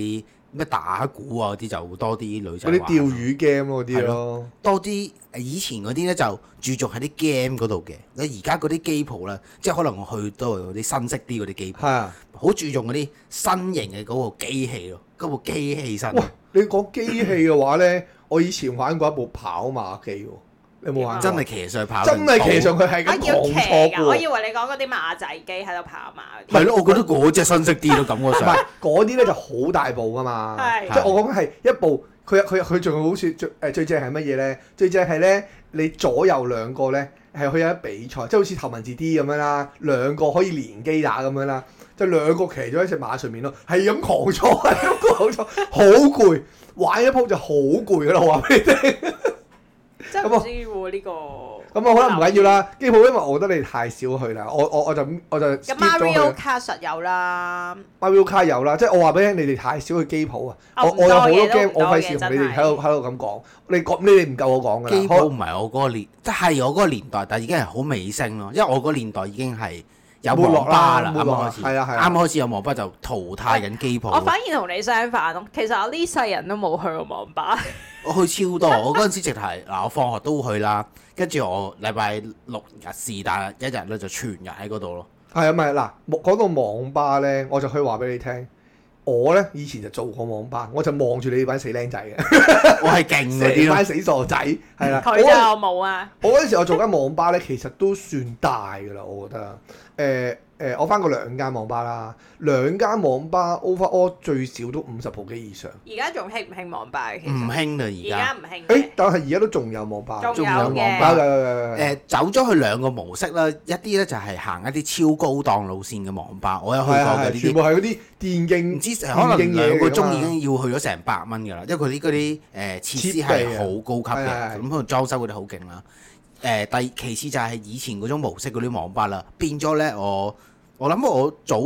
咩打鼓啊嗰啲就多啲女仔玩。嗰啲釣魚 game 嗰啲咯， 多啲以前嗰啲咧就注重喺啲 game 嗰度嘅。而家嗰啲機鋪咧，即係可能我去到嗰啲新式啲嗰啲機鋪，好注重嗰啲新型嘅嗰個機器咯，嗰部機器身。 哇！你講機器嘅話咧，我以前玩過一部跑馬機喎。你有冇玩？ 真係騎上去跑， 真係騎上去係咁狂錯㗎！ 我以為你講嗰啲馬仔機喺度跑馬。 係咯，我覺得嗰隻新式啲咯，感覺上。 唔係嗰啲咧就好大部㗎嘛，即係我講係一部，佢仲好似最正係乜嘢咧？最正係咧，你左右兩個咧係佢有得比賽，即係好似頭文字 D 咁樣啦，兩個可以連機打咁樣啦，就兩個騎咗喺隻馬上面咯，係咁狂錯，係咁狂錯，好攰，玩一鋪就好攰㗎啦，我話俾你聽。 真係唔知喎呢個。 咁我可能唔緊要啦，機鋪因為我覺得你太少去啦，我就 skip 咗佢。 咁 Mario Kart 實有啦。 Mario Kart 有啦，即係我話俾你聽，你哋太少去機鋪啊！我有好多 game，我費事同你哋喺度咁講。你哋唔夠我講㗎啦。 機鋪唔係我嗰個年，即係我嗰個年代，但係已經係好尾聲咯。因為我嗰個年代已經係有網吧啦，啱啱開始。啱啱開始有網吧就淘汰緊機鋪。 我反而同你相反咯，其實我呢世人都冇去過網吧。 我去超多，我嗰陣時直係嗱，我放學都會去啦，跟住我禮拜六日是但一日咧就全日喺嗰度咯。 係啊，咪嗱，講到網吧咧，我就可以話俾你聽，我咧以前就做過網吧，我就望住你班死僆仔嘅， 我係勁嗰啲咯， 班死傻仔係啦。 佢就冇啊。 我嗰陣時我做間網吧咧，其實都算大㗎啦，我覺得。我翻過2間網吧啦，2間網吧 overall 最少都50部機以上。 而家仲興唔興網吧？其實唔興啦，而家唔興。 但係而家都仲有網吧， 仲有網吧。有。 走咗去2個模式啦，一啲咧就係行一啲超高檔路線嘅網吧，我有去過嘅啲。 全部係嗰啲電競， 唔知可能2個鐘已經要去咗成100蚊㗎啦，因為佢啲嗰啲設施係好高級嘅，咁可能裝修嗰啲好勁啦。其次就係以前嗰種模式嗰啲網吧啦，變咗咧我諗我早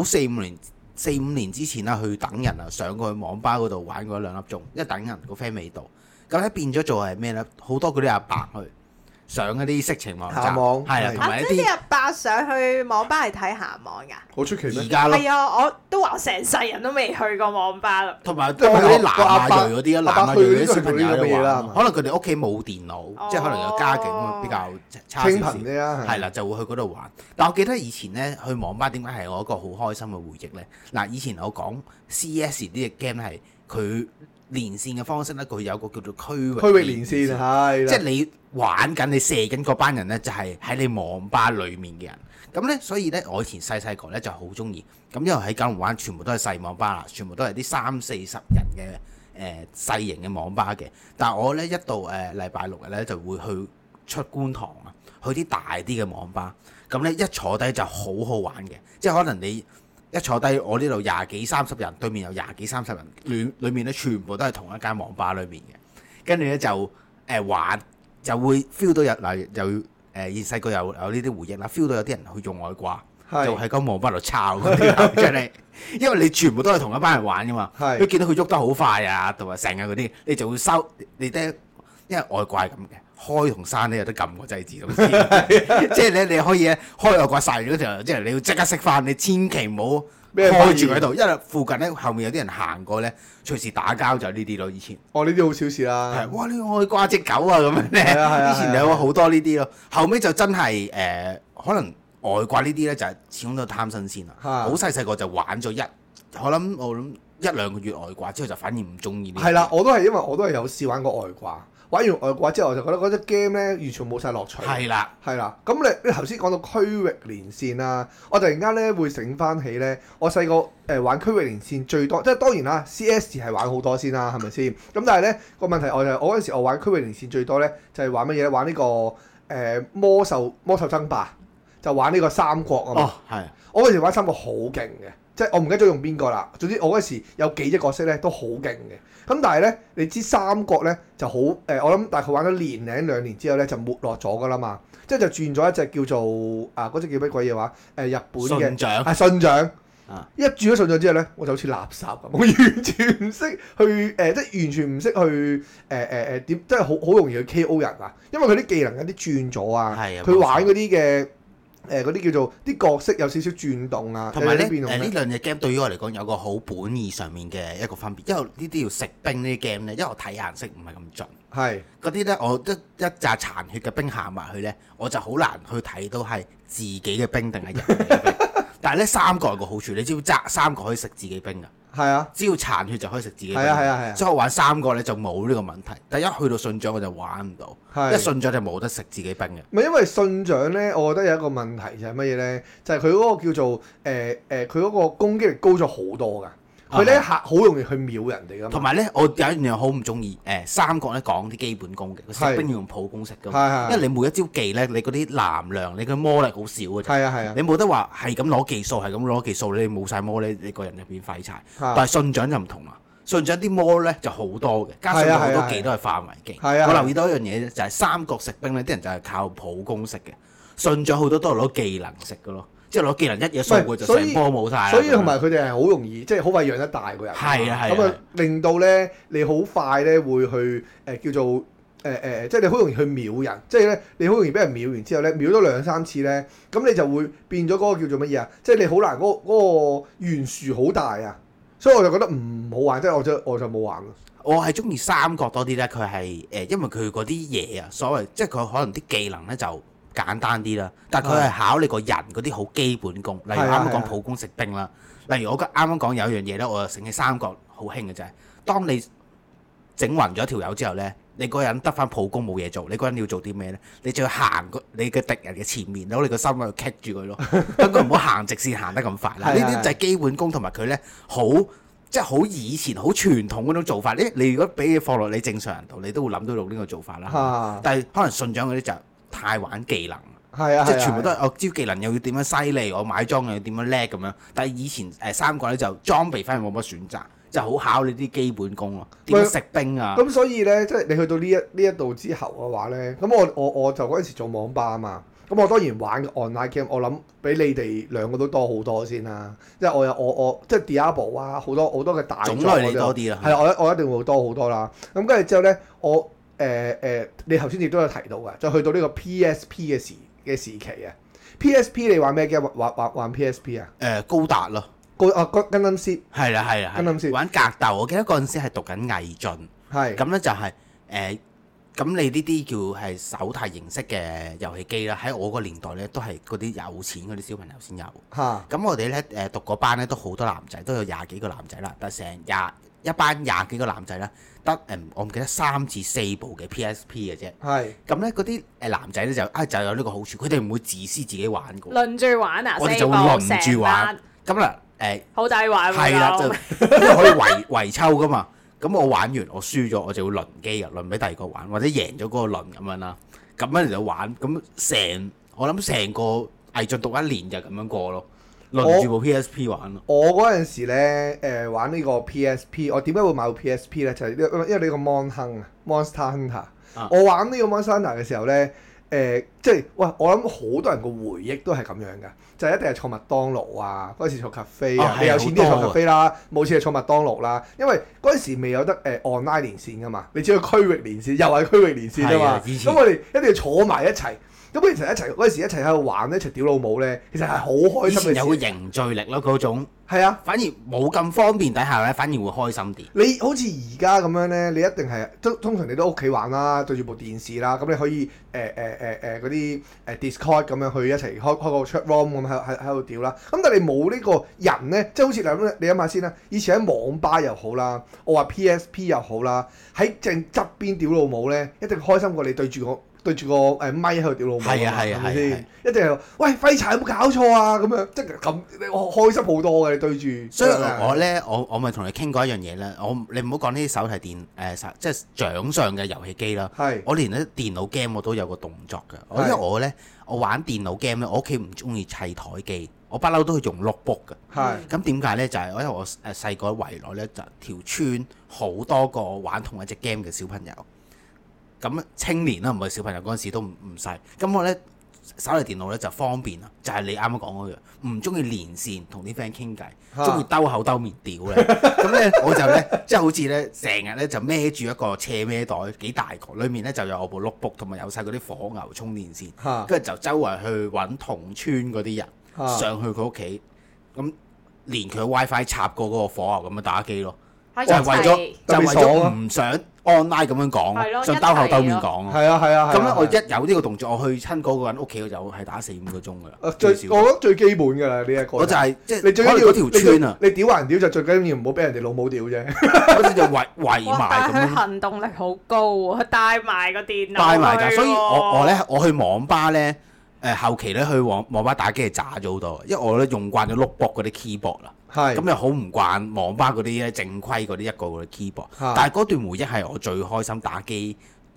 4、5年之前啦，去等人啊，上過去網吧嗰度玩過1、2粒鐘，因為等人個 friend 未到，咁咧變咗做係咩咧？好多嗰啲阿伯去上一啲色情網站，係啊，同埋一啲阿伯上去網吧係睇鹹網㗎， 好出奇咩？ 而家咯， 係啊，我都話成世人都未去過網吧啦。 同埋都係嗰啲南亞裔嗰啲啊，南亞裔嗰啲小朋友嘅話，可能佢哋屋企冇電腦，即係可能有家境比較差少少，係啦，就會去嗰度玩。但我記得以前咧去網吧點解係我一個好開心嘅回憶咧？嗱，以前我講 CS 啲嘅 game 係佢連線嘅方式咧，佢有個叫做區域連線，係即係你玩緊你射緊嗰班人咧，就係喺你網吧裡面嘅人。咁咧，所以咧，我以前細個咧就好中意。咁因為喺九龍灣全部都係細網吧啦，全部都係啲30-40人嘅細型嘅網吧嘅。但係我咧一到禮拜六日咧就會去出觀塘啊，去啲大啲嘅網吧。咁咧一坐低就好好玩嘅，即係可能你一坐低，我呢度20幾30人，對面有20幾30人，裏面咧全部都係同一間網吧裏面嘅。跟住咧就玩，就會 feel 到有嗱又。以前細個有呢啲回憶啦 ，feel 到有啲人去用外掛，就喺間網吧度抄嗰啲出嚟，因為你全部都係同一班人玩噶嘛，佢見到佢喐得好快啊，同埋成日嗰啲，你就會收你咧，因為外掛係咁嘅，開同閂咧有得撳個掣字咁先，即係咧你可以咧開外掛晒咗條，即係你要即刻熄翻，你千祈唔好開住喺度，因為附近咧後面有啲人行過咧，隨時打交就係呢啲咯。以前呢啲好小事啦。 係哇！你外掛隻狗啊咁樣咧，以前有好多呢啲咯。後尾就真係可能外掛呢啲咧就係始終都貪新鮮啦。好細個就玩咗我諗1-2個月外掛之後就反而唔中意呢啲。係啦，我都係因為我都係有試玩過外掛。玩完外掛之後，我就覺得嗰隻 game 咧完全冇晒樂趣。係啦。咁你頭先講到區域連線啦，我突然間咧會醒翻起咧，我細個玩區域連線最多，即係當然啦 CS 係玩好多先啦，係咪先？咁但係咧個問題我嗰陣時我玩區域連線最多咧就係玩乜嘢咧？玩呢個魔獸爭霸，就玩呢個三國啊嘛。哦，係。我嗰時玩三國好勁嘅，即係我唔記得咗用邊個啦。總之我嗰時有幾隻角色咧都好勁嘅。咁但係咧，你知三國咧就好我諗大概玩咗1年2年之後咧就沒落咗噶啦嘛，即係就轉咗一隻叫做嗰隻叫乜鬼嘢話日本嘅信長一轉咗信長之後咧，我就好似垃圾咁，我完全唔識去即係完全唔識去點，即係好容易去 KO 人啊，因為佢啲技能有啲轉咗啊，佢玩嗰啲嘅嗰啲叫做啲角色有少少轉動啊， 同埋咧呢兩隻 game 對於我嚟講有個好本意上面嘅一個分別，因為呢啲要食兵呢啲 game 咧，因為我睇顏色唔係咁準，係嗰啲咧我一紮殘血嘅兵行埋去咧，我就好難去睇到係自己嘅兵定係人嘅兵。但係咧三國有個好處，你只要揸三國可以食自己兵㗎。係啊，只要殘血就可以食自己兵。係啊，所以我玩三國咧就冇呢個問題。但一去到信長我就玩唔到，因為信長就冇得食自己兵嘅。 唔係因為信長咧，我覺得有一個問題就係乜嘢咧？就係佢嗰個叫做佢嗰個攻擊力高咗好多㗎。佢咧好容易去秒人哋㗎嘛。同埋咧，我有一樣嘢好唔中意三國咧講啲基本攻擊，食兵要用普攻式㗎嘛。因為你每一招技咧，你嗰啲藍量，你嘅魔力好少㗎啫。係啊。你冇得話係咁攞技數，係咁攞技數，你冇晒魔咧，你個人就變廢柴。但係信長就唔同啦，信長啲魔咧就好多嘅，加上好多技都係範圍技。我留意到一樣嘢就係三國食兵咧，啲人就係靠普攻式嘅，信長好多都係攞技能食㗎咯。即係攞技能一嘢掃過就成波冇晒。所以同埋佢哋係好容易，即係好快養得大個人。係啊。咁啊，令到咧你好快咧會去叫做即係你好容易去秒人。即係咧你好容易俾人秒完之後咧，秒咗2-3次咧，咁你就會變咗嗰個叫做乜嘢啊？即係你好難嗰個懸殊好大啊！所以我就覺得唔好玩，即係我就冇玩。 我係中意三國多啲咧，佢係因為佢嗰啲嘢啊，所謂即係佢可能啲技能咧就簡單啲啦，但係佢係考你個人嗰啲好基本功，例如啱啱講普攻食兵啦。例如我啱啱講有一樣嘢咧，我就醒起三國好興嘅就係，當你整暈咗條友之後咧，你個人得翻普攻冇嘢做，你個人要做啲咩咧？你就要行你嘅敵人嘅前面，攞你個心喺度棘住佢咯，等佢唔好行直線行得咁快啦。呢啲就係基本功，同埋佢咧好即係好以前好傳統嗰種做法。你如果俾你放落你正常人度，你都會諗到用呢個做法啦。但係可能信長嗰啲就太玩技能，即係全部都係我招技能又要點樣犀利，我買裝又要點樣叻咁樣。但係以前三國咧就裝備反而冇乜選擇，就好考你啲基本功咯，點樣食兵啊。 咁所以咧，即係你去到呢一度之後嘅話咧，咁我就嗰陣時做網吧啊嘛。咁我當然玩 online game，我諗比你哋兩個都多好多先啦。即係我即係 Diablo 啊，好多嘅大種類你多啲啦。 係我一定會多好多啦。咁跟住之後咧，你頭先亦都有提到嘅，就去到呢個 PSP 嘅時期啊。PSP 你玩咩 game？玩 PSP 啊？ 高達咯。 Gundam Seed。係啦。Gundam Seed。玩格鬥，我記得嗰陣時係讀緊毅進。係。咁咧就係咁你呢啲叫係手提形式嘅遊戲機啦。喺我個年代咧，都係嗰啲有錢嗰啲小朋友先有。嚇。咁我哋咧讀嗰班咧都好多男仔，都有20幾個男仔啦，但係一班20幾個男仔啦。得我唔記得3至4部嘅 PSP 嘅啫。係。咁咧嗰啲男仔咧就有呢個好處，佢哋唔會自私自己玩嘅。 輪住玩啊！ 我哋就會輪住玩。咁啦好抵玩喎。 係啦，就因為可以圍抽噶嘛。咁我玩完我輸咗，我就會輪機啊，輪俾第二個玩，或者贏咗嗰個輪咁樣啦。咁樣嚟就玩，咁我諗成個毅進讀1年就咁樣過咯。輪住部 PSP 玩咯。 我嗰陣時咧玩呢個 PSP，我點解會買部 PSP 咧？就係因為呢個 Monster Hunter。我玩呢個 Monster Hunter 嘅時候咧，即係我諗好多人個回憶都係咁樣㗎，就係一定係坐麥當勞啊，嗰陣時坐咖啡啊，你有錢啲坐咖啡啦，冇錢就坐麥當勞啦。因為嗰陣時未有得online 連線㗎嘛，你只有區域連線，又係區域連線啊嘛。咁我哋一定要坐埋一齊。咁其實嗰陣時一齊喺度玩一齊屌老母咧，其實係好開心嘅事。 有個凝聚力咯，嗰種。 係啊， 反而冇咁方便底下咧，反而會開心啲。 你好似而家咁樣咧，你一定係通常你都屋企玩啦，對住部電視啦，咁你可以嗰啲Discord 咁樣去一齊開個 chat room 咁喺度屌啦。咁但係你冇呢個人咧，即係好似你諗下先啦。以前喺網吧又好啦，我話 PSP 又好啦，喺正側邊屌老母咧，一定開心過你對住個咪喺度屌老母。係咪先？一定係喂廢柴有冇搞錯啊？咁樣即係咁，我開心好多嘅。你對住。 所以我咧，我咪同你傾過一樣嘢咧。你唔好講呢啲手提即係掌上嘅遊戲機啦。係。我連啲電腦 game 我都有個動作㗎。因為我玩電腦 game 咧，我屋企唔中意砌台機，我不嬲都係用 notebook 㗎。係。咁點解咧？就係因為我細個圍內咧，就條村好多個玩同一隻 game 嘅小朋友。咁青年啦，唔係小朋友嗰陣時都唔細。咁我咧手提電腦咧就方便啊，就係你啱啱講嗰樣，唔中意連線同啲 friend 傾偈，中意兜口兜面屌咧。咁咧我就咧即係好似咧成日咧就孭住一個斜孭袋幾大個，裡面咧就有我部 notebook 同埋有晒嗰啲火牛充電線，跟住就周圍去揾同村嗰啲人上去佢屋企，咁連佢 WiFi 插過嗰個火牛咁樣打機咯。就為咗唔想 online 咁樣講，想兜口兜面講。 係啊係啊。 咁咧我一有呢個動作，我去親嗰個人屋企，我就係打4-5個鐘噶啦。 我覺得最基本㗎啦呢一個。 我就係即係你最緊要嗰條村啊！ 你屌還屌就最緊要唔好俾人哋老母屌啫。 嗰陣就圍埋咁。 但係佢行動力好高喎，佢帶埋個電腦。 帶埋㗎，所以我去網吧咧，後期咧去網吧打機係渣咗好多，因為我咧用慣咗 notebook 嗰啲 keyboard 啦。咁又好唔慣網吧嗰啲咧正規嗰啲一個嗰啲 keyboard，但係嗰段回憶係我最開心打機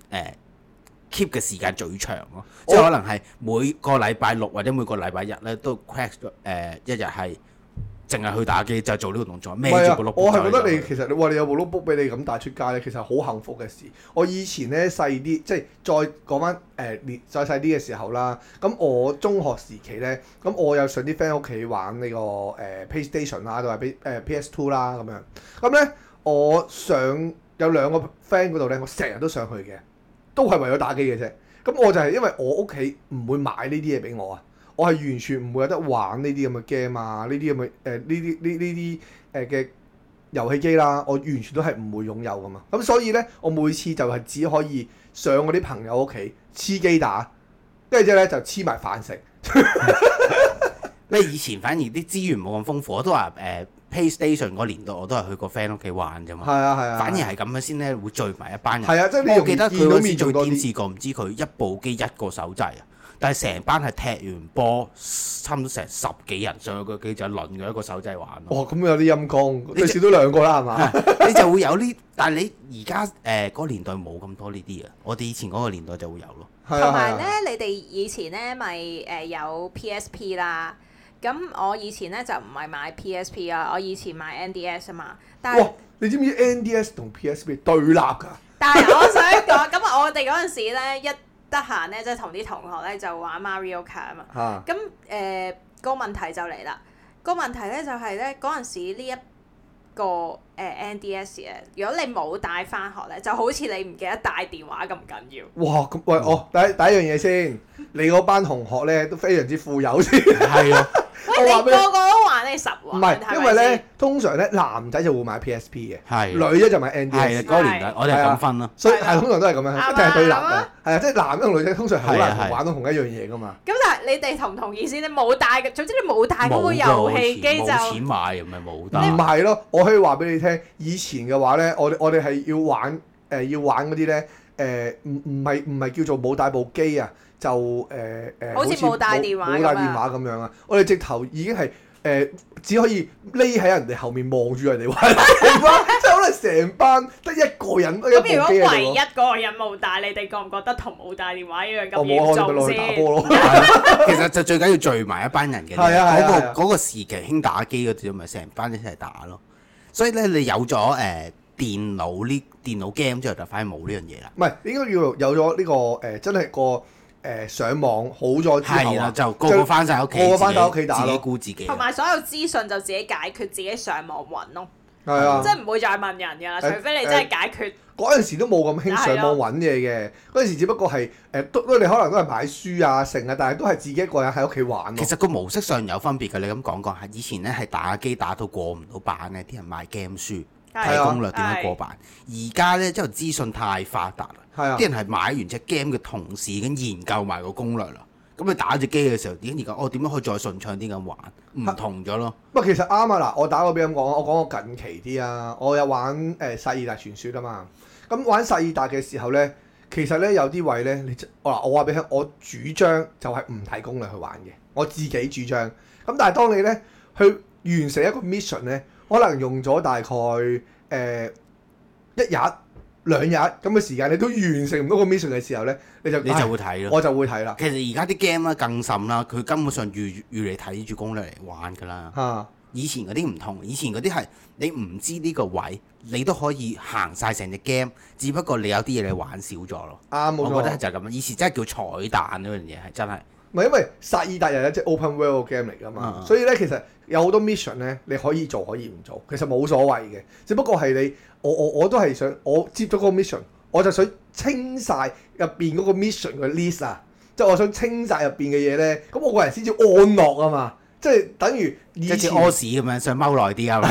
keep 嘅時間最長咯，即係可能係每個禮拜六或者每個禮拜日咧都 crack 一日係淨係去打機就做呢個動作，孭住個 notebook。我係覺得其實你話你有部 notebook 俾你咁帶出街咧，其實好幸福嘅事。我以前咧細啲，即係再講翻再細啲嘅時候啦。咁我中學時期咧，咁我有上啲 friend 屋企玩呢個PlayStation 啦，同埋PS2 啦咁樣。咁咧我上有2個 friend 嗰度咧，我成日都上去嘅，都係為咗打機嘅啫。咁我就係因為我屋企唔會買呢啲嘢俾我啊。我係完全唔會有得玩呢啲咁嘅 game 啊，呢啲咁嘅呢啲嘅遊戲機啦，我完全都係唔會擁有噶嘛。咁所以咧，我每次就係只可以上我啲朋友屋企黐機打，跟住之後咧就黐埋飯食。 你以前反而啲資源冇咁豐富，我都話PlayStation 嗰年代我都係去個 friend 屋企玩啫嘛。係啊。反而係咁樣先咧會聚埋一班人。係啊，即係我記得佢嗰時最癲試過，唔知佢一部機一個手掣啊。但係成班係踢完波，差唔多成10幾人上去個機就輪嘅一個手掣玩咯。哇！咁有啲陰功，最少都2個啦，係嘛？ 你就會有呢，但係你而家嗰個年代冇咁多呢啲啊。我哋以前嗰個年代就會有咯。 同埋咧，你哋以前咧咪有 PSP 啦。咁我以前咧就唔係買 PSP 啊，我以前買 NDS 啊嘛。但係你知唔知 NDS 同 PSP 對立㗎？ 但係我想講，咁我哋嗰陣時咧得閒咧，即係同啲同學咧就玩 Mario Kart 啊嘛。咁個問題就嚟啦。個問題咧就係咧嗰陣時呢一個NDS 咧，如果你冇帶翻學咧，就好似你唔記得帶電話咁緊要。哇！咁喂， 第一樣嘢先，你嗰班同學咧都非常之富有先。係啊。 喂，你個個都玩你實玩？ 唔係，因為咧通常咧男仔就會買 PSP 嘅，女仔就買 NDS。係嗰個年代，我哋係咁分咯。所以係通常都係咁樣，一定係對立嘅。係啊，即係男同女仔通常好難玩到同一樣嘢噶嘛。 咁但係你哋同唔同意先？你冇帶嘅，總之你冇帶嗰個遊戲機就冇錢買，唔係冇帶。 唔係咯，我可以話俾你聽，以前嘅話咧，我哋係要玩嗰啲咧，唔係叫做冇帶部機啊。就好似冇帶電話咁樣啊！我哋直頭已經係只可以匿喺人哋後面望住人哋玩電話，即係可能成班得一個人都一部機喺度。咁如果唯一嗰個人冇帶，你哋覺唔覺得同冇帶電話一樣咁嚴重先？ 打波咯。 其實就最緊要聚埋一班人嘅。嗰個時期興打機嗰啲咪成班一齊打咯。所以咧，你有咗電腦 game 之後，就反而冇呢樣嘢啦。 唔係應該要有咗呢個真係個。上網好咗之後啊， 就個個翻晒屋企，個個翻晒屋企打咯， 自己顧自己。 同埋所有資訊就自己解決，自己上網揾咯。 係啊， 即係唔會再問人㗎啦，除非你真係解決。 嗰陣時都冇咁興上網揾嘢嘅，嗰陣時只不過係都你可能都係買書啊成啊，但係都係自己一個人喺屋企玩。 其實個模式上有分別嘅，你咁講係以前咧係打機打到過唔到版咧，啲人買 game 書睇攻略點樣過版。而家咧即係資訊太發達啦。啲人係買完隻 game 嘅同時已經研究埋個攻略啦。咁你打隻機嘅時候點研究？點樣可以再順暢啲咁玩？唔同咗咯。 不過其實啱啊！嗱，我打個比咁講，我講個近期啲啊。我有玩薩爾達傳說啊嘛。咁玩薩爾達嘅時候咧，其實咧有啲位咧，我話俾你聽，我主張就係唔睇攻略去玩嘅，我自己主張。咁但係當你咧去完成一個 mission 咧，可能用咗大概1日。2日咁嘅時間，你都完成唔到個 mission 嘅時候咧，你就會睇咯。我就會睇啦。 其實而家啲 game 咧更甚啦，佢根本上預嚟睇住攻略嚟玩㗎啦。以前嗰啲唔同，以前嗰啲係你唔知呢個位，你都可以行晒成隻 game，只不過你有啲嘢你玩少咗咯。 冇錯。 我覺得就係咁。以前真係叫彩蛋嗰樣嘢係真係。 唔係因為薩爾達人咧即係 open world game 嚟㗎嘛，所以咧其實有好多 mission 咧你可以做可以唔做，其實冇所謂嘅，只不過係你我都係想我接咗嗰個 mission， 我就想清晒入邊嗰個 mission 嘅 list 啊，即係我想清晒入邊嘅嘢咧，咁我個人先至安樂啊嘛，即係等於以前屙屎咁樣想踎耐啲啊嘛。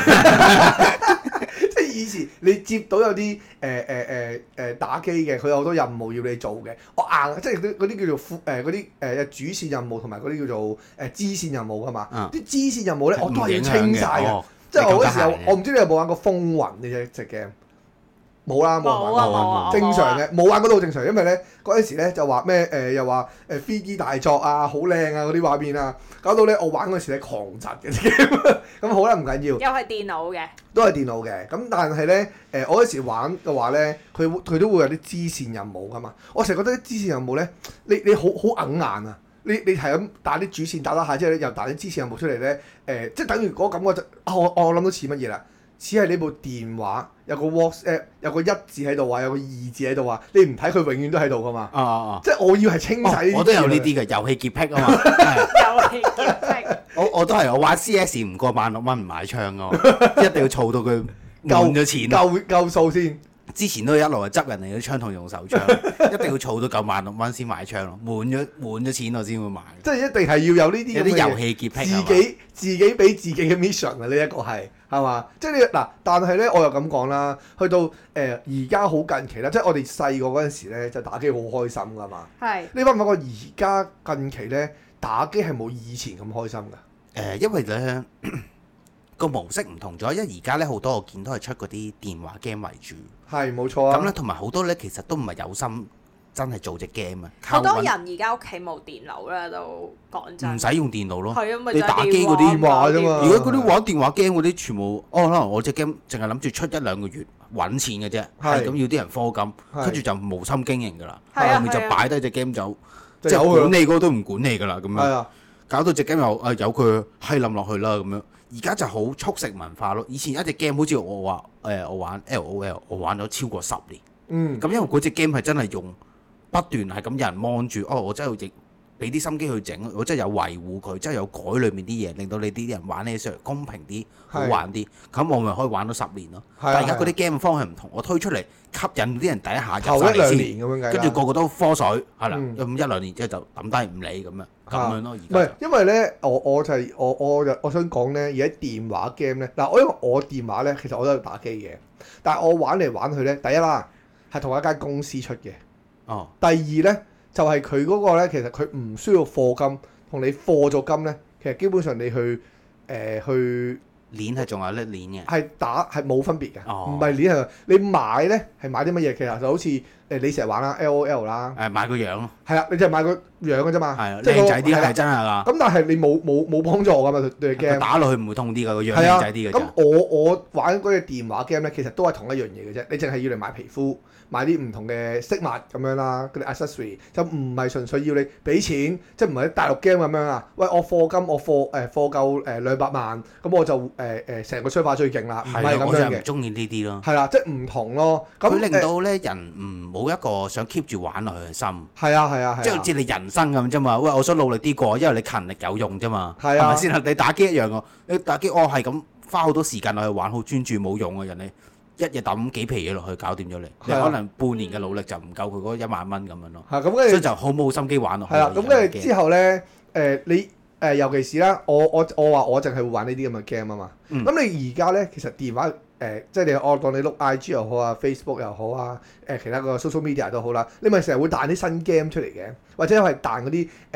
以前你接到有啲打機嘅，佢有好多任務要你做嘅，我硬即係嗰啲叫做嗰啲主線任務同埋嗰啲叫做支線任務㗎嘛。啲支線任務咧我都係要清晒嘅，即係我嗰時候我唔知你有冇玩過風雲呢隻 game？冇啦，冇玩過，正常嘅，冇玩嗰度正常，因為咧嗰陣時咧就話咩又話3D 大作啊，好靚啊嗰啲畫面啊，搞到咧我玩嗰時咧狂窒嘅 game， 咁好啦唔緊要。又係電腦嘅。都係電腦嘅，咁但係咧我嗰時玩嘅話咧，佢都會有啲支線任務噶嘛，我成日覺得啲支線任務咧，你好硬硬啊，你係咁打啲主線打下之後咧，又打啲支線任務出嚟咧，即係等於嗰感覺就我諗到似乜嘢啦？似係你部電話有個 WhatsApp 有個一字喺度啊，有個二字喺度啊，你唔睇佢永遠都喺度噶嘛。即係我要係清洗。 我都有呢啲嘅遊戲潔癖啊嘛。 遊戲潔癖。 我都係我玩 CS 唔過16,000蚊唔買槍噶，一定要儲到佢滿咗錢。 夠數先。 之前都一路係執人哋啲槍同用手槍，一定要儲到夠16,000蚊先買槍咯，滿咗錢我先會買。即係一定係要有呢啲有啲遊戲潔癖。自己俾自己嘅 mission 啊，呢一個係嘛？即係嗱，但係咧我又咁講啦，去到而家好近期啦，即係我哋細個嗰陣時咧就打機好開心噶嘛。係。你發唔發覺而家近期咧打機係冇以前咁開心㗎？ 因為咧個模式唔同咗，因為而家咧好多我見都係出嗰啲電話 game 為主。 係冇錯啊。 咁咧同埋好多咧其實都唔係有心。真係做隻 game 啊！ 好多人而家屋企冇電腦啦，都講真。 唔使用電腦咯， 係啊，咪你打機嗰啲電話啫嘛。 如果嗰啲玩電話 game 嗰啲，全部可能我隻 game 淨係諗住出1-2個月揾錢嘅啫，係咁要啲人課金，跟住就無心經營㗎啦。後面就擺低隻 game 走，即係管理嗰個都唔管理㗎啦，咁樣搞到隻 game 又由佢閪冧落去啦咁樣。而家就好速食文化咯。以前一隻 game 好似我話我玩 LOL， 我玩咗超過10年。咁因為嗰隻 game 係真係用。不斷係咁有人望住，我真係俾啲心機去整，我真係有維護佢，真係有改裏面啲嘢，令到你啲人玩起上嚟公平啲，好玩啲，咁我咪可以玩到10年咯。但係而家嗰啲 game 方向唔同，我推出嚟吸引啲人第一下入晒嚟先，跟住個個都科水，係啦，咁1-2年之後就抌低唔理咁樣咯。 唔係因為咧，我想講咧，而家電話 game 咧，嗱，因為我電話咧，其實我都有打機嘅，但係我玩嚟玩去咧，第一啦係同一間公司出嘅。第二咧就係佢嗰個咧，其實佢唔需要課金，同你課咗金咧，其實基本上你去鏈係仲有得鏈嘅， 係冇分別嘅，唔係鏈係你買咧係買啲乜嘢？其實就好似你成日玩啦 LOL 啦， 買個樣咯， 係啦，你就係買個樣嘅啫嘛， 即係靚仔啲係真係㗎。 咁但係你冇幫助㗎嘛對 game， 打落去唔會痛啲㗎，個樣靚仔啲嘅。 咁我玩嗰隻電話 game 咧，其實都係同一樣嘢嘅啫，你淨係要嚟買皮膚。買啲唔同嘅飾物咁樣啦，嗰啲 accessory 就唔係純粹要你俾錢，即係唔係啲大陸 game 咁樣啊？喂，我課金，我課夠200萬，咁我就成個 server 最勁啦，唔係咁樣嘅。我就唔中意呢啲咯。係啦，即係唔同咯。 佢令到咧人冇一個想 keep 住玩落去嘅心。 係啊， 即係好似你人生咁啫嘛。喂，我想努力啲過，因為你勤力有用啫嘛。係咪先？你打機一樣喎，你打機係咁花好多時間落去玩，好專注冇用啊！人哋。一日抌幾皮嘢落去搞掂咗你，你可能半年嘅努力就唔夠佢嗰1萬蚊咁樣咯。咁所以就好冇心機玩落去。係啦，咁跟住之後咧，你尤其是啦，我話我淨係會玩呢啲咁嘅 game 啊嘛。咁你而家咧，其實電話即係我當你碌 IG 又好啊 ，Facebook 又好啊，其他個 social media 都好啦，你咪成日會彈啲新 game 出嚟嘅，或者係彈嗰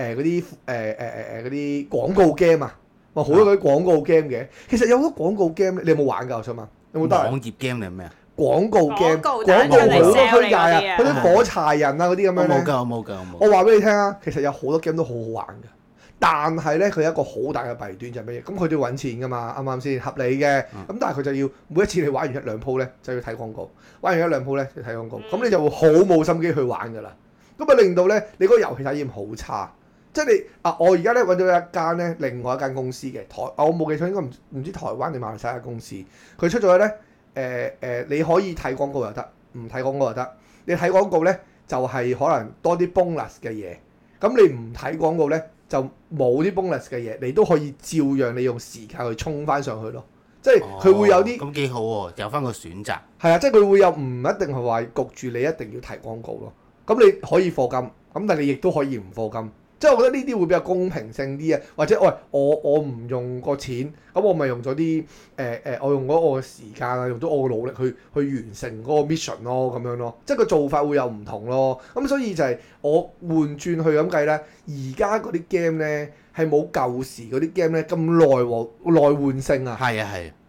啲廣告 game 啊，好多嗰啲廣告 game 嘅。其實有好多廣告 game，你有冇玩㗎？我想問。有冇得網頁 game 定係咩啊？ 廣告 game，廣告好多推介啊，嗰啲火柴人啊嗰啲咁樣咧。 冇㗎。 我話俾你聽啊，其實有好多 game 都好好玩㗎，但係咧佢有一個好大嘅弊端就係乜嘢？咁佢都要揾錢㗎嘛，啱唔啱先？合理嘅。咁但係佢就要每一次你玩完1-2鋪咧，就要睇廣告；玩完1-2鋪咧，就睇廣告。咁你就會好冇心機去玩㗎啦。咁啊令到咧你嗰個遊戲體驗好差。即係你我而家咧揾到一間咧，另外一間公司嘅我冇記錯應該唔知台灣定馬來西亞公司，佢出咗咧你可以睇廣告又得，唔睇廣告又得。你睇廣告咧就係可能多啲 bonus 嘅嘢，咁你唔睇廣告咧就冇啲 bonus 嘅嘢，你都可以照樣你用時間去衝翻上去咯。即係佢會有啲咁幾好喎，有翻個選擇。 係啊，即係佢會有唔一定係話焗住你一定要提廣告咯。咁你可以課金，咁但係你亦都可以唔課金。即係我覺得呢啲會比較公平性啲啊，或者喂我唔用個錢，咁我咪用咗啲我用咗我嘅時間啊，用咗我嘅努力去完成嗰個 mission 咯，咁樣咯，即係個做法會有唔同咯。咁所以就係我換轉去咁計咧，而家嗰啲 game 咧係冇舊時嗰啲 game 咧咁耐換性啊。 係啊係，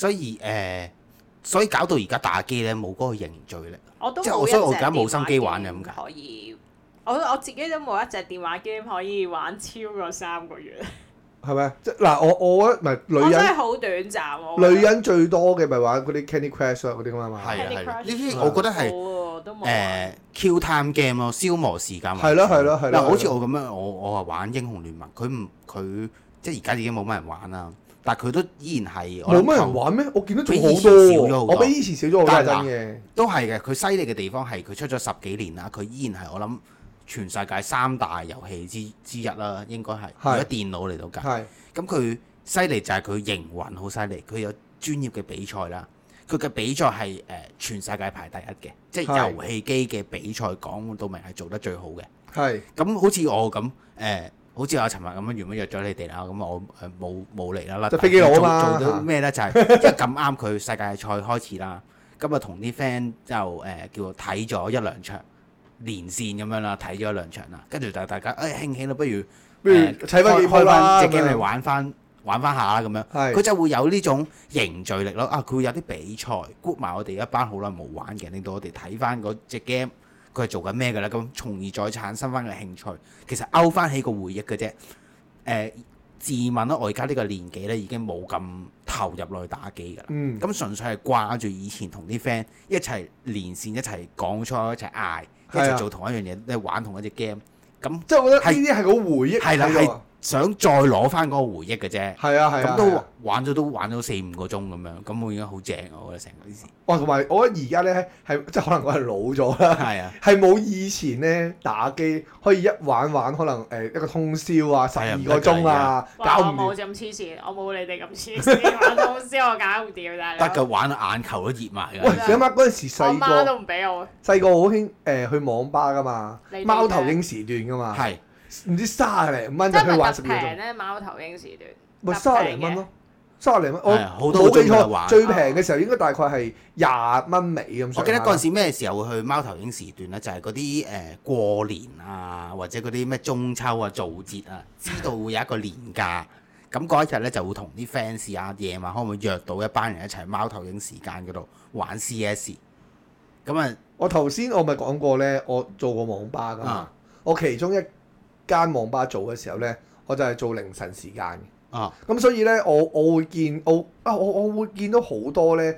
所以搞到而家打機咧冇嗰個凝聚力。 所以我而家冇心機玩嘅咁解。 可以。我自己都冇一隻電話 game 可以玩超過3個月。 係咪？即係嗱，我覺得唔係女人。我真係好短暫喎。 女人最多嘅咪玩嗰啲 Candy Crush 嗰啲啊嘛。 係呢啲我覺得係Q time game 咯，消磨時間。 係咯。嗱， 好似我咁樣，我係玩英雄聯盟，佢即係而家已經冇乜人玩啦，但係佢都依然係。 冇乜人玩咩？我見到仲好多。我比以前少咗好多真嘅。 都係嘅，佢犀利嘅地方係佢出咗10幾年啦，佢依然係我諗。全世界3大遊戲之一啦，應該係如果電腦嚟到計。咁佢犀利就係佢營運好犀利，佢有專業嘅比賽啦。佢嘅比賽係全世界排第一嘅，即係遊戲機嘅比賽講到明係做得最好嘅。係咁好似我咁好似我尋日咁樣原本約咗你哋啦，咁我冇嚟啦。 就飛機佬啊嘛！ 做到咩咧？就係因為咁啱佢世界賽開始啦，咁啊同啲 friend 就叫我睇咗一兩場。連線咁樣啦，睇咗2場啦，跟住就大家興起啦，不如砌翻幾鋪啦， 隻 game 嚟玩翻下啦咁樣。佢就會有呢種凝聚力咯。佢會有啲比賽 group 埋我哋一班好耐冇玩嘅，令到我哋睇翻嗰隻 game 佢係做緊咩嘅咧，咁從而再產生翻嘅興趣。其實勾翻起個回憶嘅啫。自問啦，我而家呢個年紀咧已經冇咁投入落去打機㗎啦。咁純粹係掛住以前同啲 friend 一齊連線，一齊講錯，一齊嗌。一齊做同一樣嘢，你玩同一隻 game，咁即係我覺得呢啲係個回憶， 係啦，係想再攞翻嗰個回憶嘅啫。係啊，咁都玩咗4-5個鐘咁樣，咁我已經好正，我覺得成個啲事。 同埋我覺得而家咧係即係可能我係老咗啦，係啊，係冇以前咧打機可以一玩可能一個通宵啊，12個鐘啊，搞唔掂。 我冇咁黐線，我冇你哋咁黐線，玩通宵我搞唔掂，但係得㗎，玩到眼球都熱埋㗎。 喂，你諗下嗰陣時細個， 我媽都唔俾我。 細個好興去網吧㗎嘛，貓頭鷹時段㗎嘛，係唔知30零蚊就去玩12個鐘。 平咧貓頭鷹時段， 咪30零蚊咯。30零蚊，我冇記錯，最平嘅時候應該大概係20蚊尾咁。 我記得嗰陣時咩時候會去貓頭鷹時段咧？就係嗰啲過年啊，或者嗰啲咩中秋啊、造節啊，知道會有一個年假。咁嗰一日咧就會同啲 fans 啊，夜晚可唔可以約到一班人一齊貓頭鷹時間嗰度玩 CS。咁啊， 我頭先我咪講過咧，我做過網吧噶嘛。我其中一間網吧做嘅時候咧，我就係做凌晨時間嘅。咁所以咧，我會見我會見到好多咧，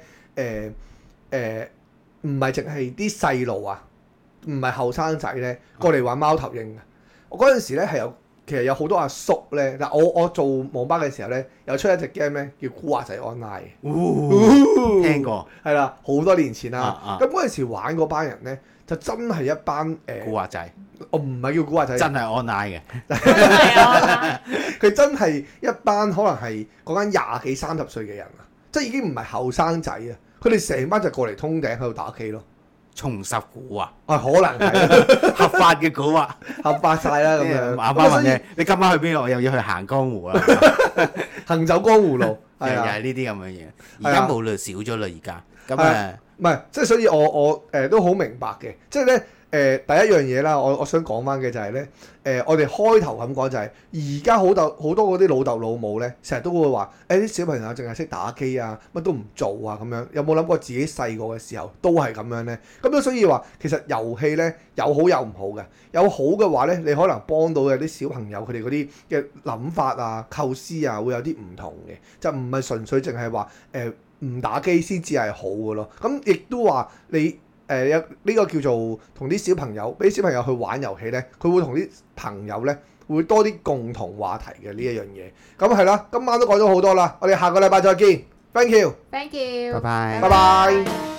唔係淨係啲細路啊，唔係後生仔咧過嚟玩貓頭鷹嘅。我嗰陣時咧其實有好多阿叔咧。嗱，我做網吧嘅時候咧，有出一隻 game 咧叫古惑仔 Online。 聽過係啦，好多年前啦。咁嗰陣時玩嗰班人咧，就真係一班古惑仔。 我唔係叫古惑仔， 真係 online 嘅。 佢真係一班可能係講緊20幾30歲嘅人啊，即係已經唔係後生仔啊。佢哋成班就過嚟通頂喺度打機咯。 重拾股啊！ 可能係合法嘅股啊， 合法晒啦咁樣。 阿媽問你今晚去邊度？我又要去行江湖啊！ 行走江湖路係又係呢啲咁嘅嘢。而家冇啦，少咗啦，而家咁唔係，即係所以我都好明白嘅，即係咧。第一樣嘢啦，我想講翻嘅就係咧，我哋開頭咁講就係，而家好多嗰啲老豆老母咧，成日都會話，啲小朋友淨係識打機啊，乜都唔做啊咁樣，有冇諗過自己細個嘅時候都係咁樣咧？咁樣所以話，其實遊戲咧有好有唔好嘅，有好嘅話咧，你可能幫到嘅啲小朋友佢哋嗰啲嘅諗法啊、構思啊，會有啲唔同嘅，就唔係純粹淨係話唔打機先至係好嘅咯。咁亦都話你。有呢個叫做同啲小朋友，俾小朋友去玩遊戲咧，佢會同啲朋友咧會多啲共同話題嘅呢一樣嘢。咁係啦，今晚都講咗好多啦，我哋下個禮拜再見。Thank you， 拜拜， 拜拜。